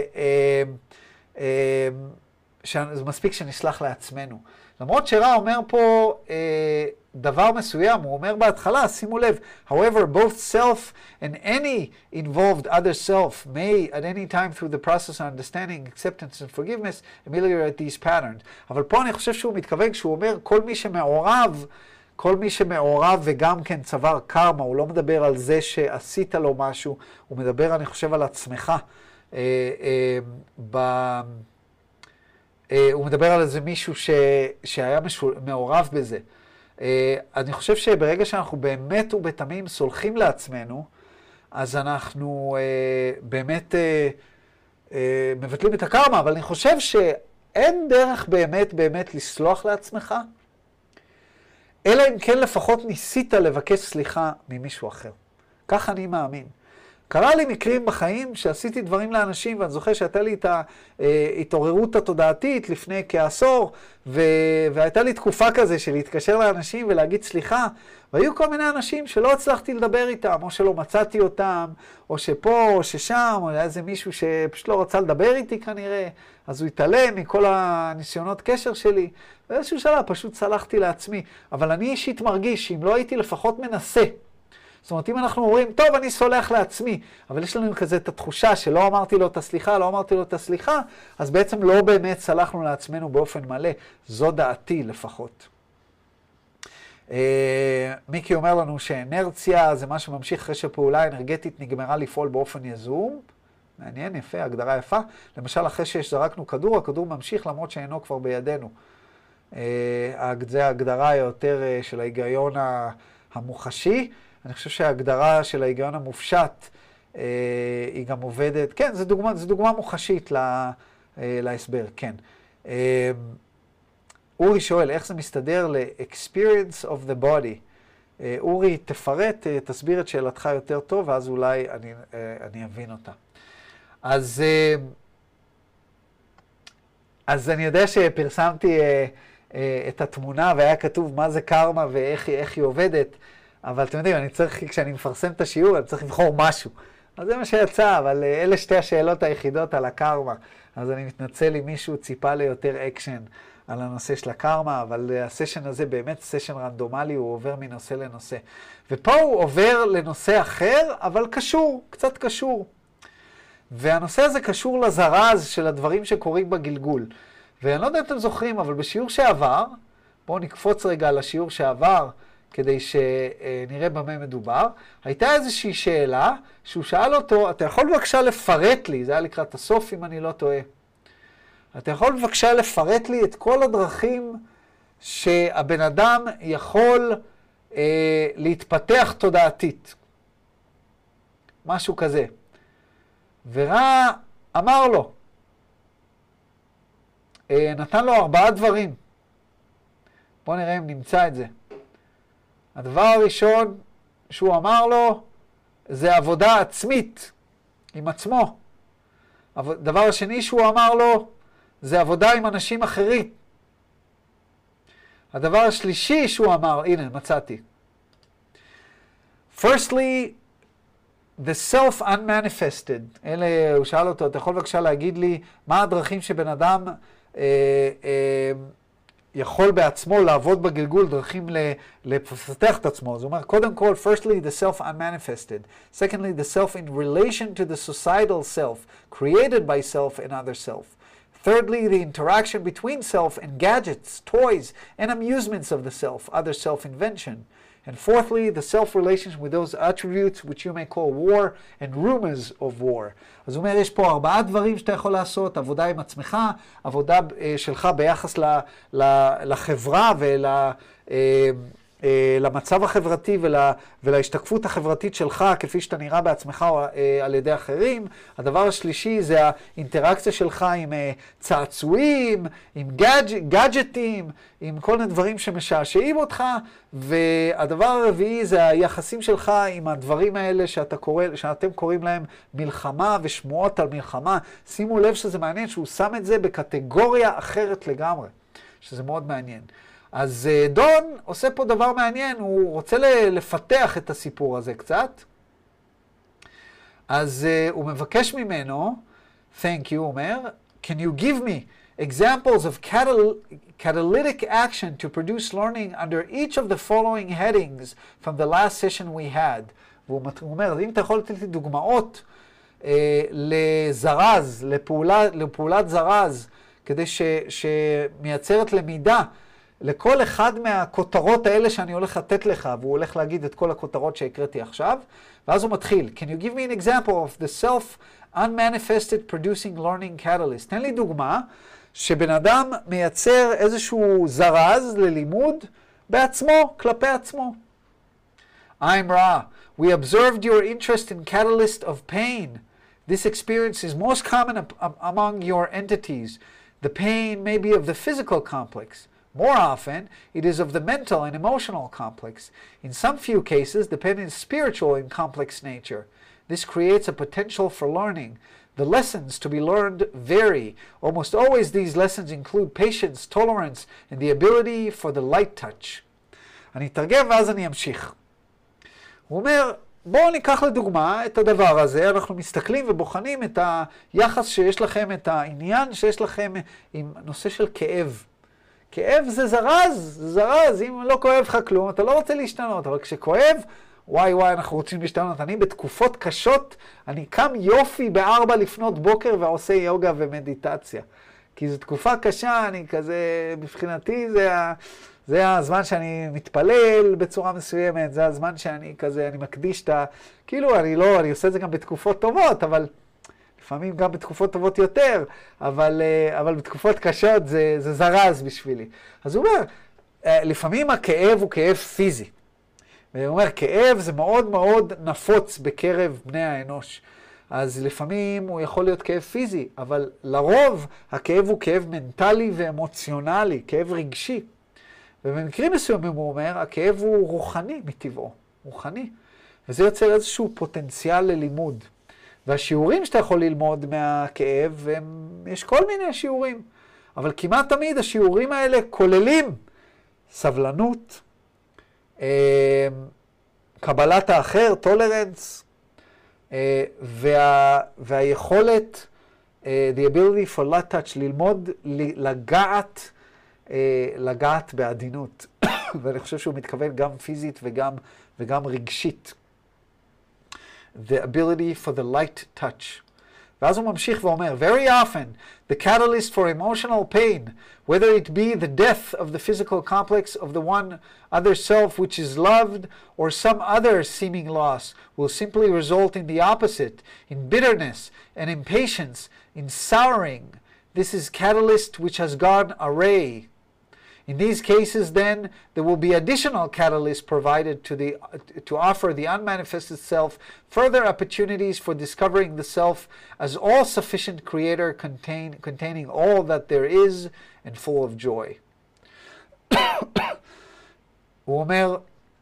שזה מספיק שנסלח לעצמנו. למרות שרע אומר פה דבר מסוים, הוא אומר בהתחלה, שימו לב, however, both self and any involved other self may at any time through the process of understanding, acceptance and forgiveness ameliorate these patterns. אבל פה אני חושב שהוא מתכוון, כשהוא אומר כל מי שמעורב, כל מי שמעורב וגם כן צבר קרמה, הוא לא מדבר על זה שעשית לו משהו, הוא מדבר, אני חושב, על עצמך. אה, אה, ב... הוא מדבר על איזה מישהו ש... שהיה משול... מעורב בזה. אני חושב שברגע שאנחנו באמת ובתמים סולחים לעצמנו, אז אנחנו באמת מבטלים את הקרמה, אבל אני חושב שאין דרך באמת באמת לסלוח לעצמך, אלא אם כן לפחות ניסית לבקש סליחה ממישהו אחר. כך אני מאמין. קרה לי מקרים בחיים שעשיתי דברים לאנשים, ואני זוכר שהייתה לי את ההתעוררות התודעתית לפני כעשור, ו... והייתה לי תקופה כזה של להתקשר לאנשים ולהגיד סליחה, והיו כל מיני אנשים שלא הצלחתי לדבר איתם, או שלא מצאתי אותם, או שפה, או ששם, או היה איזה מישהו שפשוט לא רצה לדבר איתי כנראה, אז הוא התעלם מכל הניסיונות קשר שלי, באיזשהו שלב פשוט סלחתי לעצמי. אבל אני אישית מרגיש שאם לא הייתי לפחות מנסה, זאת אומרת, אם אנחנו אומרים, טוב, אני סולח לעצמי, אבל יש לנו כזה את התחושה שלא אמרתי לו את הסליחה, לא אמרתי לו את הסליחה, אז בעצם לא באמת סלחנו לעצמנו באופן מלא. זו דעתי לפחות. מיקי אומר לנו שאנרציה זה מה שממשיך אחרי שפעולה אנרגטית נגמרה לפעול באופן יזום. מעניין, יפה, הגדרה יפה. למשל, אחרי שזרקנו כדור, הכדור ממשיך למרות שאינו כבר בידינו. זה ההגדרה היותר של ההיגיון המוחשי. אני חושב שההגדרה של ההיגיון המופשט היא גם עובדת. כן, זו דוגמה, זו דוגמה מוחשית להסבר, כן. אורי שואל, איך זה מסתדר ל-experience of the body? אורי, תפרט, תסביר את שאלתך יותר טוב, ואז אולי אני, אני אבין אותה. אז, אז אני יודע שפרסמתי את התמונה, והיה כתוב מה זה קרמה ואיך איך היא עובדת, אבל אתם יודעים, אני צריך, כשאני מפרסם את השיעור, אני צריך לבחור משהו. אז זה מה שיצא, אבל אלה שתי השאלות היחידות על הקרמה. אז אני מתנצל אם מישהו ציפה ליותר אקשן על הנושא של הקרמה, אבל הסשן הזה באמת סשן רנדומלי, הוא עובר מנושא לנושא. ופה הוא עובר לנושא אחר, אבל קשור, קצת קשור. והנושא הזה קשור לזרז של הדברים שקורים בגלגול. ואני לא יודע אם אתם זוכרים, אבל בשיעור שעבר, בואו נקפוץ רגע לשיעור שעבר, כדי שנראה במה מדובר, הייתה איזושהי שאלה שהוא שאל אותו, אתה יכול בבקשה לפרט לי, זה היה לקראת הסוף אם אני לא טועה, אתה יכול בבקשה לפרט לי את כל הדרכים שהבן אדם יכול אה, להתפתח תודעתית. משהו כזה. ורע אמר לו, אה, נתן לו ארבעה דברים. בואו נראה אם נמצא את זה. הדבר הראשון שהוא אמר לו, זה עבודה עצמית עם עצמו. הדבר השני שהוא אמר לו, זה עבודה עם אנשים אחרים. הדבר השלישי שהוא אמר, הנה, מצאתי. Firstly, the self-unmanifested. אלה, הוא שאל אותו, אתה יכול בבקשה להגיד לי, מה הדרכים שבן אדם אה, אה, יכול בעצמו לעבוד בגלגול, דרכים לפתח את עצמו. אז הוא אומר, קודם כל, firstly, the self-unmanifested. Secondly, the self in relation to the societal self, created by self and other self. Thirdly, the interaction between self and gadgets, toys, and amusements of the self, other self-invention. And fourthly, the self-relations with those attributes which you may call war and rumors of war. אז הוא אומר, יש פה ארבעה דברים שאתה יכול לעשות, עבודה עם עצמך, עבודה שלך ביחס ל, ל, לחברה ול... למצב החברתי ול, ולהשתקפות החברתית שלך, כפי שאתה נראה בעצמך או על ידי אחרים. הדבר השלישי זה האינטראקציה שלך עם צעצועים, עם גאדג', גאדג'טים, עם כל מיני דברים שמשעשעים אותך. והדבר הרביעי זה היחסים שלך עם הדברים האלה שאתה קורא, שאתם קוראים להם מלחמה ושמועות על מלחמה. שימו לב שזה מעניין שהוא שם את זה בקטגוריה אחרת לגמרי, שזה מאוד מעניין. אז דון עושה פה דבר מעניין, הוא רוצה לפתח את הסיפור הזה קצת. אז הוא מבקש ממנו, thank you, אומר, can you give me examples of catal catalytic action to produce learning under each of the following headings from the last session we had? והוא אומר, אם אתה יכול לתת לי דוגמאות אה, לזרז, לפעולה, לפעולת זרז, כדי ש, שמייצרת למידה, לכל אחד מהכותרות האלה שאני הולך לתת לך, והוא הולך להגיד את כל הכותרות שהקראתי עכשיו, ואז הוא מתחיל. Can you give me an example of the self-unmanifested producing learning catalyst? תן לי דוגמה שבן אדם מייצר איזשהו זרז ללימוד בעצמו, כלפי עצמו. I'm Ra. We observed your interest in catalyst of pain. This experience is most common among your entities. The pain may be of the physical complex. More often, it is of the mental and emotional complex. In some few cases, the pain is spiritual in complex nature. This creates a potential for learning. The lessons to be learned vary. Almost always these lessons include patience, tolerance, and the ability for the light touch. אני אתרגם ואז אני אמשיך. הוא אומר, בואו ניקח לדוגמה את הדבר הזה, אנחנו מסתכלים ובוחנים את היחס שיש לכם, את העניין שיש לכם עם נושא של כאב. כאב זה זרז, זה זרז, אם לא כואב לך כלום, אתה לא רוצה להשתנות, אבל כשכואב, וואי וואי, אנחנו רוצים להשתנות. אני בתקופות קשות, אני קם יופי בארבע לפנות בוקר ועושה יוגה ומדיטציה. כי זו תקופה קשה, אני כזה, מבחינתי זה, זה הזמן שאני מתפלל בצורה מסוימת, זה הזמן שאני כזה, אני מקדיש את ה... כאילו, אני לא, אני עושה את זה גם בתקופות טובות, אבל לפעמים גם בתקופות טובות יותר, אבל, אבל בתקופות קשות זה, זה זרז בשבילי. אז הוא אומר, לפעמים הכאב הוא כאב פיזי. והוא אומר, כאב זה מאוד מאוד נפוץ בקרב בני האנוש. אז לפעמים הוא יכול להיות כאב פיזי, אבל לרוב הכאב הוא כאב מנטלי ואמוציונלי, כאב רגשי. ובמקרים מסוימים הוא אומר, הכאב הוא רוחני מטבעו, רוחני. וזה יוצר איזשהו פוטנציאל ללימוד. והשיעורים שאתה יכול ללמוד מהכאב, הם, יש כל מיני שיעורים. אבל כמעט תמיד השיעורים האלה כוללים סבלנות, קבלת האחר, טולרנס, וה, והיכולת, the ability for light touch, ללמוד, לגעת, לגעת בעדינות. ואני חושב שהוא מתכוון גם פיזית וגם, וגם רגשית. The ability for the light touch. ואז הוא ממשיך ואומר, very often, the catalyst for emotional pain, whether it be the death of the physical complex of the one other self which is loved, or some other seeming loss, will simply result in the opposite, in bitterness and impatience, in souring. This is catalyst which has gone awry. In these cases, then, there will be additional catalysts provided to, the, to offer the unmanifested self further opportunities for discovering the self as all-sufficient creator contain, containing all that there is and full of joy. הוא אומר,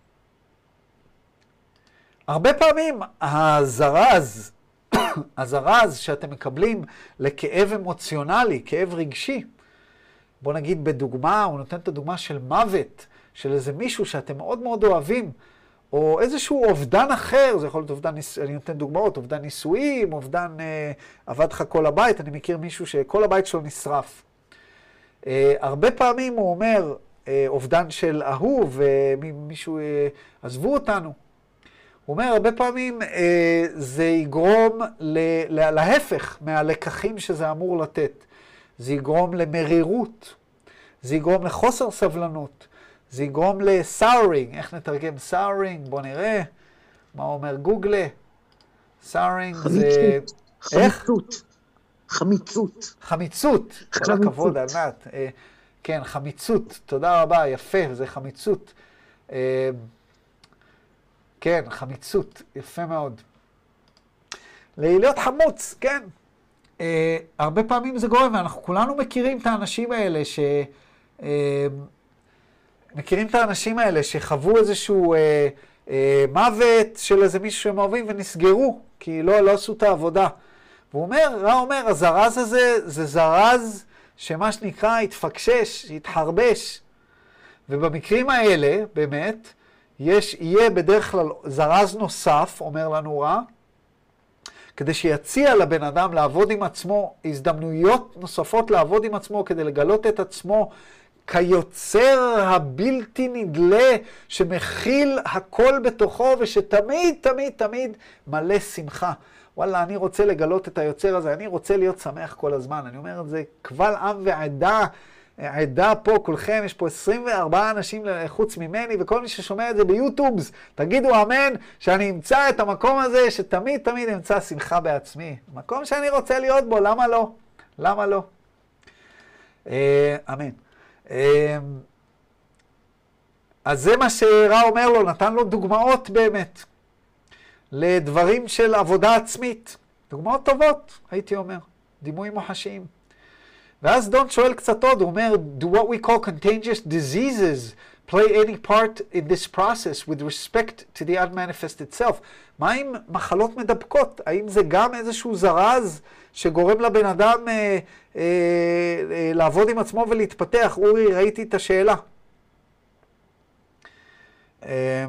הרבה פעמים הזרז, הזרז שאתם מקבלים לכאב אמוציונלי, כאב רגשי, בוא נגיד בדוגמה, הוא נותן את הדוגמה של מוות, של איזה מישהו שאתם מאוד מאוד אוהבים, או איזשהו אובדן אחר, זה יכול להיות אובדן, אני נותן דוגמאות, אובדן נישואים, אובדן אה, עבד לך כל הבית, אני מכיר מישהו שכל הבית שלו נשרף. אה, הרבה פעמים הוא אומר, אה, אובדן של אהוב, ומישהו אה, עזבו אותנו. הוא אומר, הרבה פעמים אה, זה יגרום ל- לה- להפך מהלקחים שזה אמור לתת. זה יגרום למרירות, זה יגרום לחוסר סבלנות, זה יגרום לסאורינג. איך נתרגם סאורינג? בוא נראה מה אומר גוגלה. סאורינג זה... חמיצות. חמיצות. חמיצות. כל הכבוד, ענת. כן, חמיצות. תודה רבה, יפה, זה חמיצות. כן, חמיצות, יפה מאוד. להיות חמוץ, כן. Uh, הרבה פעמים זה גורם, ואנחנו כולנו מכירים את האנשים האלה ש... Uh, מכירים את האנשים האלה שחוו איזשהו uh, uh, מוות של איזה מישהו שהם אוהבים ונסגרו, כי לא, לא עשו את העבודה. והוא אומר, רע אומר, הזרז הזה זה זרז שמה שנקרא התפקשש, התחרבש. ובמקרים האלה, באמת, יש, יהיה בדרך כלל זרז נוסף, אומר לנו רע, כדי שיציע לבן אדם לעבוד עם עצמו, הזדמנויות נוספות לעבוד עם עצמו, כדי לגלות את עצמו כיוצר הבלתי נדלה, שמכיל הכל בתוכו, ושתמיד, תמיד, תמיד מלא שמחה. וואלה, אני רוצה לגלות את היוצר הזה, אני רוצה להיות שמח כל הזמן. אני אומר את זה, קבל עם ועדה, עדה פה, כולכם, יש פה עשרים וארבעה אנשים חוץ ממני, וכל מי ששומע את זה ביוטיובס, תגידו אמן, שאני אמצא את המקום הזה, שתמיד תמיד אמצא שמחה בעצמי. מקום שאני רוצה להיות בו, למה לא? למה לא? אמן. אז זה מה שרע אומר לו, נתן לו דוגמאות באמת, לדברים של עבודה עצמית. דוגמאות טובות, הייתי אומר, דימויים מוחשיים. ואז דון שואל קצת עוד, הוא אומר, do what we call contagious diseases play any part in this process with respect to the unmanifest itself. מה עם מחלות מדבקות? האם זה גם איזשהו זרז שגורם לבן אדם אה, אה, אה, לעבוד עם עצמו ולהתפתח? אורי, ראיתי את השאלה. אה,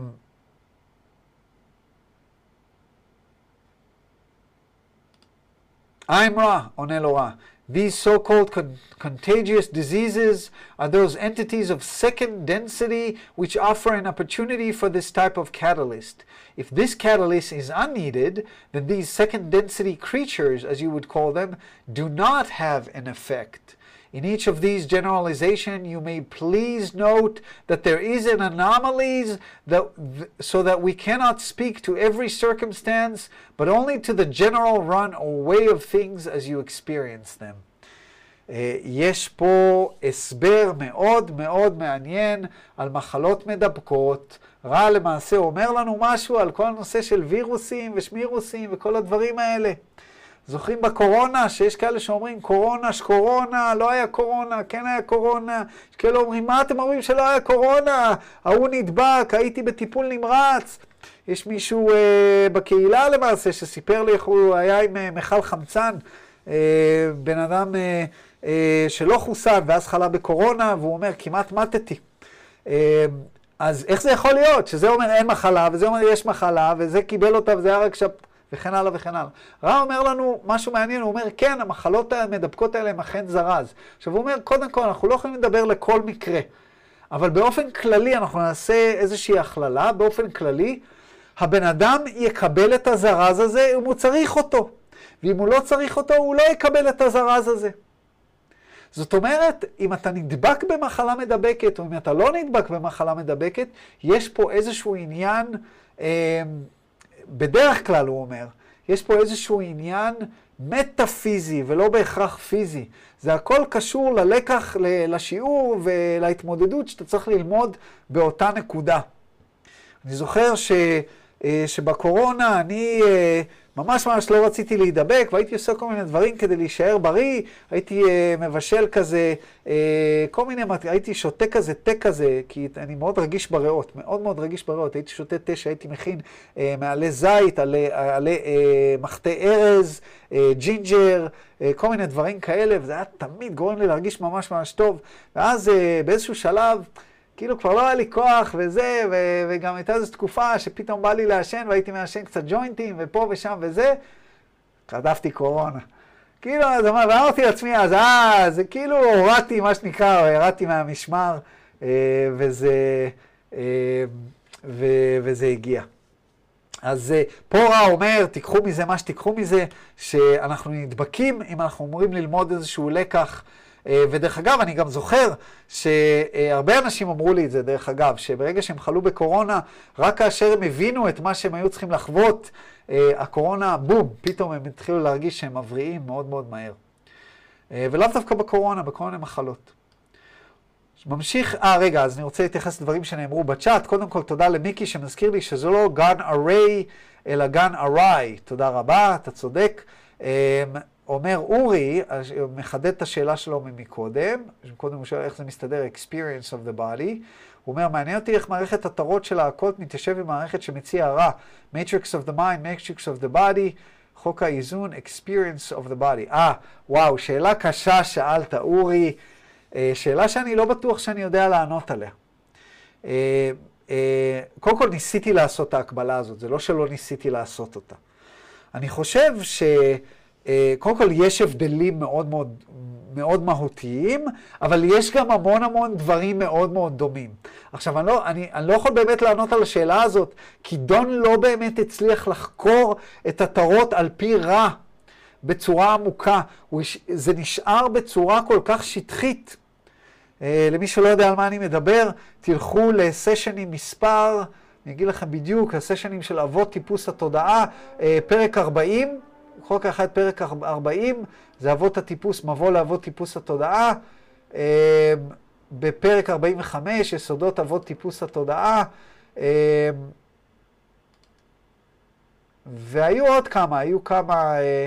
I'm רע, עונה לו רע. These so-called con contagious diseases are those entities of second density which offer an opportunity for this type of catalyst. If this catalyst is unneeded, then these second density creatures, as you would call them, do not have an effect. In each of these generalizations, you may please note that there is an anomalies that, so that we cannot speak to every circumstance, but only to the general run or way of things as you experience them. Uh, יש פה הסבר מאוד מאוד מעניין על מחלות מדבקות. רע למעשה אומר לנו משהו על כל הנושא של וירוסים ושמירוסים וכל הדברים האלה. זוכרים בקורונה, שיש כאלה שאומרים קורונה, שקורונה, לא היה קורונה, כן היה קורונה. יש כאלה אומרים, מה אתם אומרים שלא היה קורונה? ההוא נדבק, הייתי בטיפול נמרץ. יש מישהו אה, בקהילה למעשה שסיפר לי איך הוא היה עם אה, מחל חמצן, אה, בן אדם אה, אה, שלא חוסן ואז חלה בקורונה, והוא אומר, כמעט מתתי. אה, אז איך זה יכול להיות? שזה אומר אין מחלה, וזה אומר יש מחלה, וזה קיבל אותה, וזה היה רק שפ... וכן הלאה וכן הלאה. רע אומר לנו משהו מעניין, הוא אומר, כן, המחלות המדבקות האלה הם אכן זרז. עכשיו הוא אומר, קודם כל, אנחנו לא יכולים לדבר לכל מקרה, אבל באופן כללי, אנחנו נעשה איזושהי הכללה, באופן כללי, הבן אדם יקבל את הזרז הזה אם הוא צריך אותו, ואם הוא לא צריך אותו, הוא לא יקבל את הזרז הזה. זאת אומרת, אם אתה נדבק במחלה מדבקת, או אם אתה לא נדבק במחלה מדבקת, יש פה איזשהו עניין, אה, בדרך כלל הוא אומר, יש פה איזשהו עניין מטאפיזי ולא בהכרח פיזי. זה הכל קשור ללקח, לשיעור ולהתמודדות שאתה צריך ללמוד באותה נקודה. אני זוכר ש, שבקורונה אני ממש ממש לא רציתי להידבק, והייתי עושה כל מיני דברים כדי להישאר בריא, הייתי מבשל כזה, כל מיני, הייתי שותה כזה, תה כזה, כי אני מאוד רגיש בריאות, מאוד מאוד רגיש בריאות, הייתי שותה תה שהייתי מכין מעלי זית, עלי, עלי מחטא ארז, ג'ינג'ר, כל מיני דברים כאלה, וזה היה תמיד גורם לי להרגיש ממש ממש טוב, ואז באיזשהו שלב, כאילו כבר לא היה לי כוח וזה, ו- וגם הייתה איזו תקופה שפתאום בא לי לעשן, והייתי מעשן קצת ג'וינטים, ופה ושם וזה, חטפתי קורונה. כאילו, אז אמרתי לעצמי, אז אה, זה כאילו הורדתי, מה שנקרא, הורדתי מהמשמר, וזה, ו- וזה הגיע. אז פה רע אומר, תיקחו מזה מה שתיקחו מזה, שאנחנו נדבקים, אם אנחנו אומרים ללמוד איזשהו לקח, ודרך אגב, אני גם זוכר שהרבה אנשים אמרו לי את זה, דרך אגב, שברגע שהם חלו בקורונה, רק כאשר הם הבינו את מה שהם היו צריכים לחוות, הקורונה, בום, פתאום הם התחילו להרגיש שהם מבריאים מאוד מאוד מהר. ולאו דווקא בקורונה, בכל מיני מחלות. ממשיך, אה רגע, אז אני רוצה להתייחס לדברים שנאמרו בצ'אט. קודם כל, תודה למיקי שמזכיר לי שזה לא גן array, אלא גן array. תודה רבה, אתה צודק. אומר אורי, מחדד את השאלה שלו ממקודם, קודם הוא שואל איך זה מסתדר, experience of the body, הוא אומר, מעניין אותי איך מערכת התרות של העקות מתיישב עם מערכת שמציע רע, matrix of the mind, matrix of the body, חוק האיזון, experience of the body. אה, וואו, שאלה קשה שאלת, אורי, שאלה שאני לא בטוח שאני יודע לענות עליה. קודם כל ניסיתי לעשות את ההקבלה הזאת, זה לא שלא ניסיתי לעשות אותה. אני חושב ש... קודם כל יש הבדלים מאוד מאוד, מאוד מהותיים, אבל יש גם המון המון דברים מאוד מאוד דומים. עכשיו, אני לא, אני, אני לא יכול באמת לענות על השאלה הזאת, כי דון לא באמת הצליח לחקור את התרות על פי רע בצורה עמוקה. זה נשאר בצורה כל כך שטחית. למי שלא יודע על מה אני מדבר, תלכו לסשנים מספר, אני אגיד לכם בדיוק, הסשנים של אבות טיפוס התודעה, פרק ארבעים, חוק אחד פרק ארבעים, זה אבות הטיפוס, מבוא לאבות טיפוס התודעה. בפרק ארבעים וחמש, יסודות אבות טיפוס התודעה. והיו עוד כמה, היו כמה,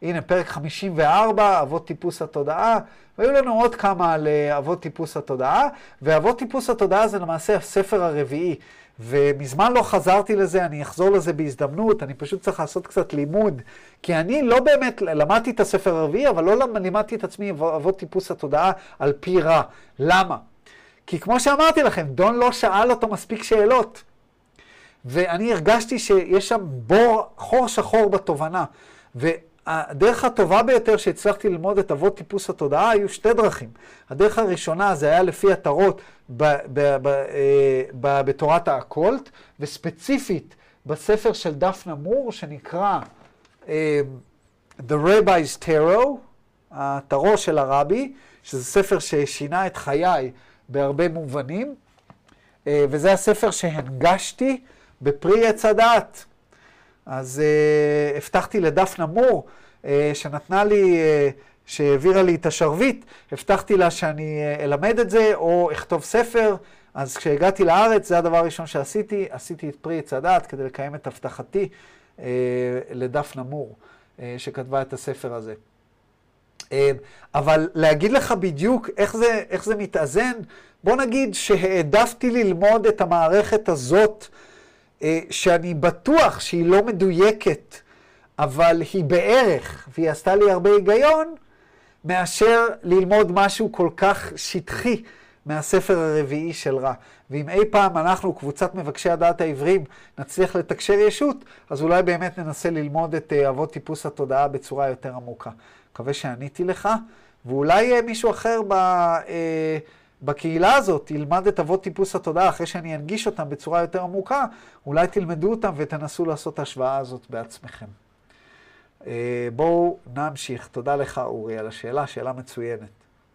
הנה, פרק חמישים וארבע, אבות טיפוס התודעה, והיו לנו עוד כמה על אבות טיפוס התודעה, ואבות טיפוס התודעה זה למעשה הספר הרביעי, ומזמן לא חזרתי לזה, אני אחזור לזה בהזדמנות, אני פשוט צריך לעשות קצת לימוד, כי אני לא באמת למדתי את הספר הרביעי, אבל לא לימדתי את עצמי אבות טיפוס התודעה על פי רע. למה? כי כמו שאמרתי לכם, דון לא שאל אותו מספיק שאלות, ואני הרגשתי שיש שם בור, חור שחור בתובנה, והדרך הטובה ביותר שהצלחתי ללמוד את אבות טיפוס התודעה היו שתי דרכים. הדרך הראשונה זה היה לפי התרות ב- ב- ב- ב- בתורת האקולט, וספציפית בספר של דפנה מור שנקרא uh, The Rabbi's Tarot, התרו של הרבי, שזה ספר ששינה את חיי בהרבה מובנים, uh, וזה הספר שהנגשתי בפרי עץ הדעת. אז uh, הבטחתי לדפנה מור, uh, שנתנה לי, uh, שהעבירה לי את השרביט, הבטחתי לה שאני uh, אלמד את זה או אכתוב ספר. אז כשהגעתי לארץ, זה הדבר הראשון שעשיתי, עשיתי את פרי עץ הדעת כדי לקיים את הבטחתי uh, לדפנה מור, uh, שכתבה את הספר הזה. Uh, אבל להגיד לך בדיוק איך זה, איך זה מתאזן, בוא נגיד שהעדפתי ללמוד את המערכת הזאת, שאני בטוח שהיא לא מדויקת, אבל היא בערך, והיא עשתה לי הרבה היגיון, מאשר ללמוד משהו כל כך שטחי מהספר הרביעי של רע. ואם אי פעם אנחנו, קבוצת מבקשי הדעת העברים, נצליח לתקשר ישות, אז אולי באמת ננסה ללמוד את אבות טיפוס התודעה בצורה יותר עמוקה. מקווה שעניתי לך, ואולי מישהו אחר ב... בקהילה הזאת ילמד את אבות טיפוס התודעה, אחרי שאני אנגיש אותם בצורה יותר עמוקה, אולי תלמדו אותם ותנסו לעשות את ההשוואה הזאת בעצמכם. בואו נמשיך. תודה לך אורי על השאלה, שאלה מצוינת.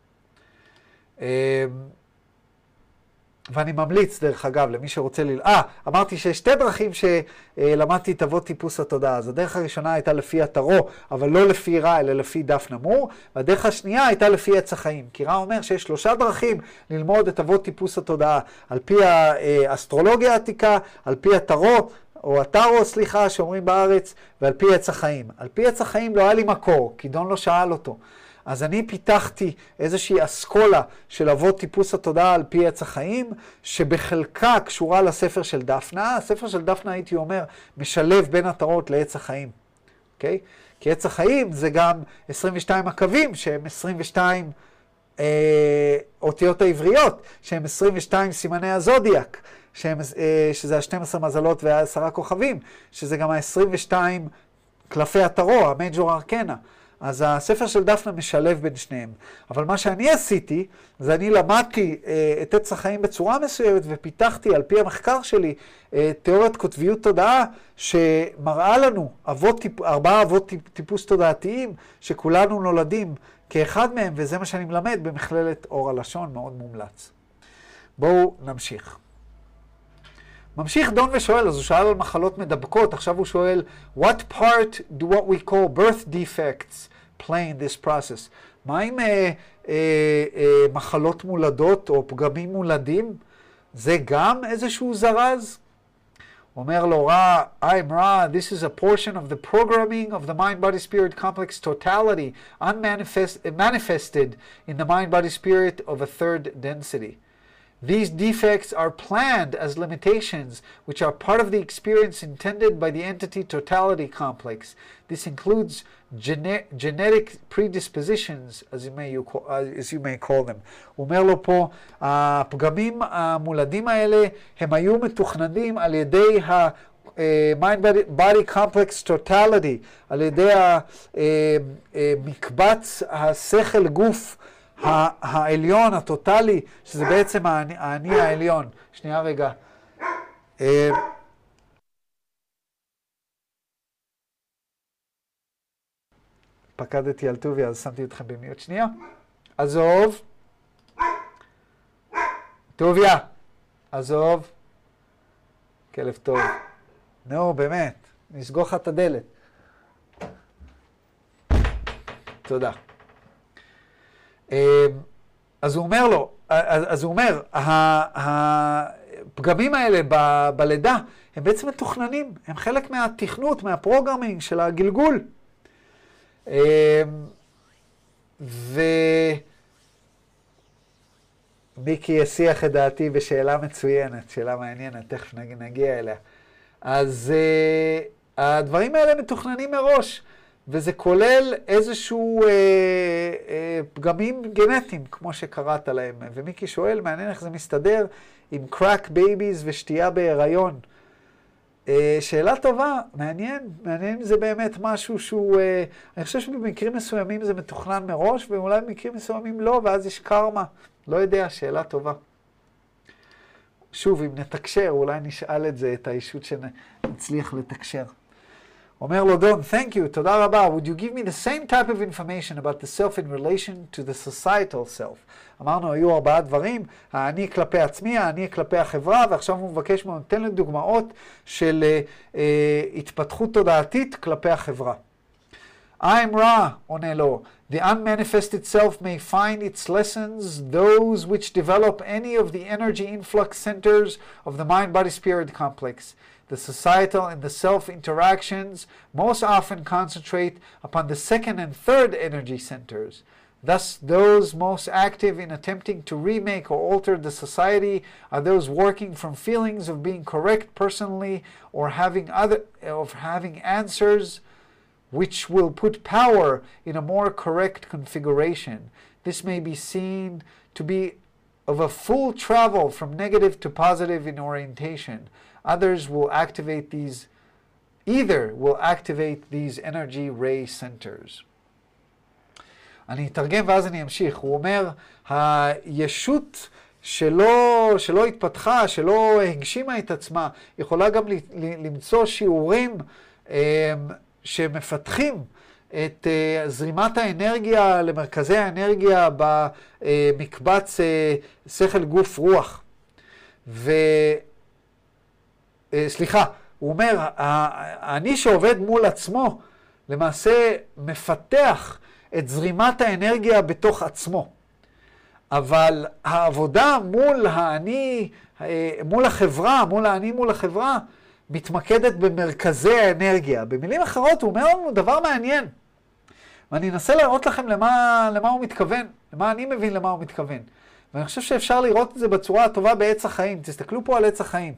ואני ממליץ, דרך אגב, למי שרוצה ל... אה, אמרתי שיש שתי דרכים שלמדתי את אבות טיפוס התודעה. אז הדרך הראשונה הייתה לפי התרו, אבל לא לפי רע, אלא לפי דפנה מור. והדרך השנייה הייתה לפי עץ החיים. כי רע אומר שיש שלושה דרכים ללמוד את אבות טיפוס התודעה. על פי האסטרולוגיה העתיקה, על פי התרו, או הטרו, סליחה, שאומרים בארץ, ועל פי עץ החיים. על פי עץ החיים לא היה לי מקור, כי דון לא שאל אותו. אז אני פיתחתי איזושהי אסכולה של אבות טיפוס התודעה על פי עץ החיים, שבחלקה קשורה לספר של דפנה. הספר של דפנה, הייתי אומר, משלב בין התרות לעץ החיים. אוקיי? כי עץ החיים זה גם עשרים ושתיים הקווים, שהם עשרים ושתיים אה, אותיות העבריות, שהם עשרים ושתיים סימני הזודיאק, שהם, אה, שזה ה-שנים עשר מזלות וה-עשרה כוכבים, שזה גם ה-עשרים ושתיים קלפי התרו, המייג'ור ארקנה. אז הספר של דפנה משלב בין שניהם. אבל מה שאני עשיתי, זה אני למדתי אה, את עץ החיים בצורה מסוימת, ופיתחתי על פי המחקר שלי אה, תיאוריית קוטביות תודעה, שמראה לנו אבות טיפ, ארבעה אבות טיפ, טיפוס תודעתיים, שכולנו נולדים כאחד מהם, וזה מה שאני מלמד במכללת אור הלשון, מאוד מומלץ. בואו נמשיך. ממשיך דון ושואל, אז הוא שאל על מחלות מדבקות, עכשיו הוא שואל, what part do what we call birth defects play in this process? מה עם אה, אה, אה, מחלות מולדות או פגמים מולדים? זה גם איזשהו זרז? אומר לו, רע, I'm רע, this is a portion of the programming of the mind-body-spirit complex totality, unmanifested manifested in the mind-body-spirit of a third density. These defects are planned as limitations, which are part of the experience intended by the entity totality complex. This includes gene- genetic predispositions, as you may, you call, uh, as you may call them. הוא אומר לו פה, הפגמים המולדים האלה הם היו מתוכננים על ידי ה... mind body complex totality, על ידי המקבץ השכל גוף העליון, הטוטלי, שזה בעצם האני העליון. שנייה רגע. פקדתי על טובי, אז שמתי אתכם במיוט. שנייה. עזוב. טוביה. עזוב. כלב טוב. נו, באמת. נסגור לך את הדלת. תודה. אז הוא אומר לו, אז הוא אומר, הפגמים האלה ב- בלידה, הם בעצם מתוכננים, הם חלק מהתכנות, מהפרוגרמינג של הגלגול. ומיקי יסיח את דעתי בשאלה מצוינת, שאלה מעניינת, תכף נגיע אליה. אז uh, הדברים האלה מתוכננים מראש, וזה כולל איזשהו uh, uh, פגמים גנטיים, כמו שקראת להם. ומיקי שואל, מעניין איך זה מסתדר עם קראק בייביז ושתייה בהיריון. Uh, שאלה טובה, מעניין, מעניין אם זה באמת משהו שהוא, uh, אני חושב שבמקרים מסוימים זה מתוכנן מראש, ואולי במקרים מסוימים לא, ואז יש קרמה. לא יודע, שאלה טובה. שוב, אם נתקשר, אולי נשאל את זה, את האישות שנצליח לתקשר. אומר לו דון, thank you, תודה רבה. Would you give me the same type of information about the self in relation to the societal self? אמרנו, היו ארבעה דברים, האני כלפי עצמי, האני כלפי החברה, ועכשיו הוא מבקש ממנו, נותן לי דוגמאות של uh, uh, התפתחות תודעתית כלפי החברה. I'm Ra, עונה לו. The unmanifested self may find its lessons, those which develop any of the energy influx centers of the mind-body-spirit complex. The societal and the self-interactions most often concentrate upon the second and third energy centers. Thus, those most active in attempting to remake or alter the society are those working from feelings of being correct personally or having other, of having answers which will put power in a more correct configuration. This may be seen to be of a full travel from negative to positive in orientation. Others will activate these, either will activate these energy ray centers. אני אתרגם ואז אני אמשיך. הוא אומר, הישות שלא, שלא התפתחה, שלא הגשימה את עצמה, יכולה גם למצוא שיעורים שמפתחים את uh, זרימת האנרגיה למרכזי האנרגיה במקבץ uh, שכל גוף רוח. ו... Uh, סליחה, הוא אומר, אני שעובד מול עצמו, למעשה מפתח את זרימת האנרגיה בתוך עצמו. אבל העבודה מול האני, מול החברה, מול האני מול החברה, מתמקדת במרכזי האנרגיה. במילים אחרות הוא אומר לנו דבר מעניין. ואני אנסה להראות לכם למה, למה הוא מתכוון, למה אני מבין למה הוא מתכוון. ואני חושב שאפשר לראות את זה בצורה הטובה בעץ החיים. תסתכלו פה על עץ החיים.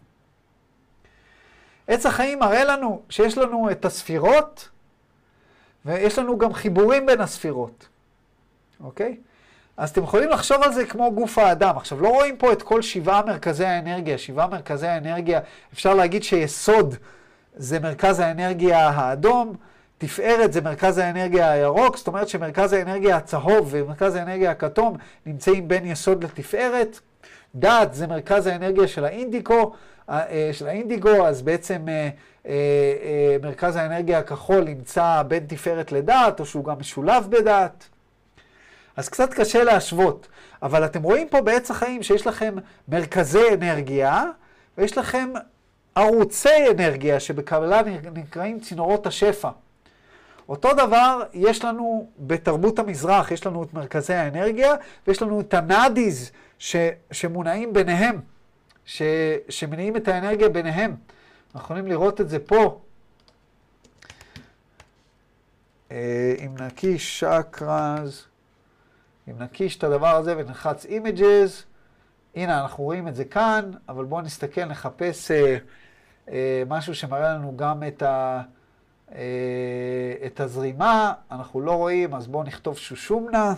עץ החיים מראה לנו שיש לנו את הספירות, ויש לנו גם חיבורים בין הספירות. אוקיי? אז אתם יכולים לחשוב על זה כמו גוף האדם. עכשיו, לא רואים פה את כל שבעה מרכזי האנרגיה. שבעה מרכזי האנרגיה, אפשר להגיד שיסוד זה מרכז האנרגיה האדום, תפארת זה מרכז האנרגיה הירוק, זאת אומרת שמרכז האנרגיה הצהוב ומרכז האנרגיה הכתום נמצאים בין יסוד לתפארת. דעת זה מרכז האנרגיה של האינדיקו, של האינדיגו, אז בעצם מרכז האנרגיה הכחול נמצא בין תפארת לדעת, או שהוא גם משולב בדעת. אז קצת קשה להשוות, אבל אתם רואים פה בעץ החיים שיש לכם מרכזי אנרגיה, ויש לכם ערוצי אנרגיה שבקבלה נקראים צינורות השפע. אותו דבר יש לנו בתרבות המזרח, יש לנו את מרכזי האנרגיה, ויש לנו את הנאדיז ש, שמונעים ביניהם, ש, שמניעים את האנרגיה ביניהם. אנחנו יכולים לראות את זה פה. אם נקיש שקרז, אם נקיש את הדבר הזה ונלחץ images, הנה אנחנו רואים את זה כאן, אבל בואו נסתכל, נחפש אה, אה, משהו שמראה לנו גם את, ה, אה, את הזרימה, אנחנו לא רואים, אז בואו נכתוב שושומנה,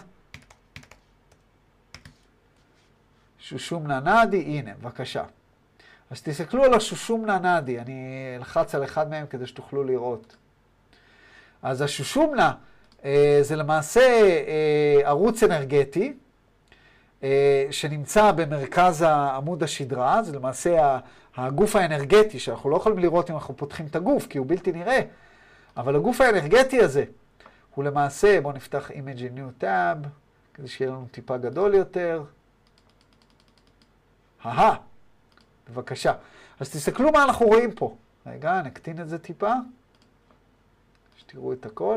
שושומנה נאדי, הנה, בבקשה. אז תסתכלו על השושומנה נאדי, אני אלחץ על אחד מהם כדי שתוכלו לראות. אז השושומנה, זה למעשה ערוץ אנרגטי שנמצא במרכז עמוד השדרה, זה למעשה הגוף האנרגטי שאנחנו לא יכולים לראות אם אנחנו פותחים את הגוף כי הוא בלתי נראה, אבל הגוף האנרגטי הזה הוא למעשה, בואו נפתח Image in New Tab כדי שיהיה לנו טיפה גדול יותר. אהה, בבקשה. אז תסתכלו מה אנחנו רואים פה. רגע, נקטין את זה טיפה, שתראו את הכל.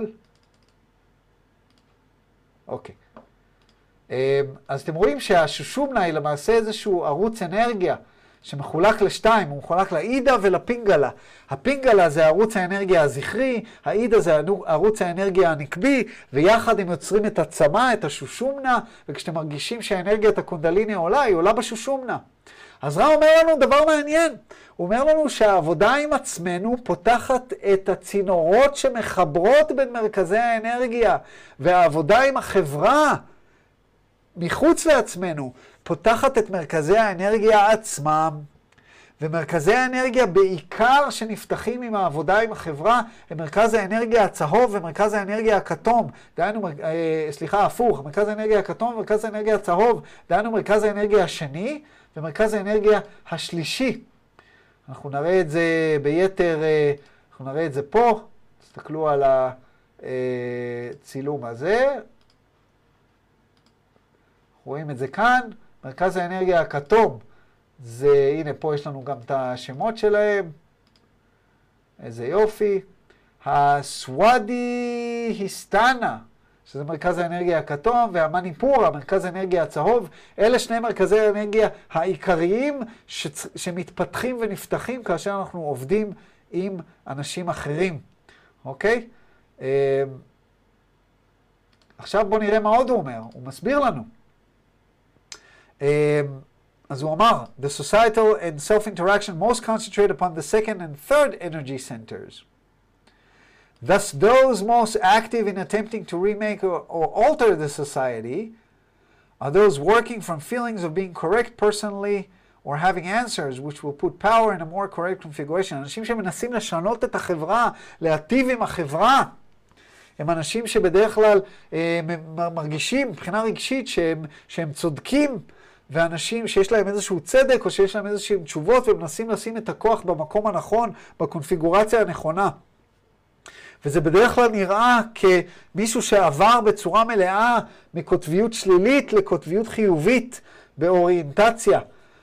אוקיי. אז אתם רואים שהשושומנה היא למעשה איזשהו ערוץ אנרגיה שמחולק לשתיים, הוא מחולק לאידה ולפינגלה. הפינגלה זה ערוץ האנרגיה הזכרי, האידה זה ערוץ האנרגיה הנקבי, ויחד הם יוצרים את הצמא, את השושומנה, וכשאתם מרגישים שהאנרגיית הקונדליני עולה, היא עולה בשושומנה. אז רע אומר לנו דבר מעניין, הוא אומר לנו שהעבודה עם עצמנו פותחת את הצינורות שמחברות בין מרכזי האנרגיה, והעבודה עם החברה מחוץ לעצמנו פותחת את מרכזי האנרגיה עצמם, ומרכזי האנרגיה בעיקר שנפתחים עם העבודה עם החברה הם מרכז האנרגיה הצהוב ומרכז האנרגיה הכתום, דהיינו, אה, סליחה, הפוך, מרכז האנרגיה הכתום ומרכז האנרגיה הצהוב, דהיינו מרכז האנרגיה השני ומרכז האנרגיה השלישי. אנחנו נראה את זה ביתר, אה, אנחנו נראה את זה פה, תסתכלו על הצילום הזה, רואים את זה כאן, מרכז האנרגיה הכתום, זה, הנה פה יש לנו גם את השמות שלהם, איזה יופי, הסוודי היסטנה, שזה מרכז האנרגיה הכתום, והמניפורה, מרכז האנרגיה הצהוב, אלה שני מרכזי האנרגיה העיקריים ש... שמתפתחים ונפתחים כאשר אנחנו עובדים עם אנשים אחרים, אוקיי? עכשיו בואו נראה מה עוד הוא אומר, הוא מסביר לנו. אז הוא אמר, the societal and self-interaction most concentrate upon the second and third energy centers. Thus, those most active in attempting to remake or, or alter the society are those working from feelings of being correct personally or having answers which will put power in a more correct configuration. אנשים שמנסים לשנות את החברה, להטיב עם החברה, הם אנשים שבדרך כלל אה, מרגישים מבחינה רגשית שהם, שהם צודקים, ואנשים שיש להם איזשהו צדק או שיש להם איזשהם תשובות ומנסים לשים את הכוח במקום הנכון, בקונפיגורציה הנכונה. וזה בדרך כלל נראה כמישהו שעבר בצורה מלאה מקוטביות שלילית לקוטביות חיובית באוריינטציה.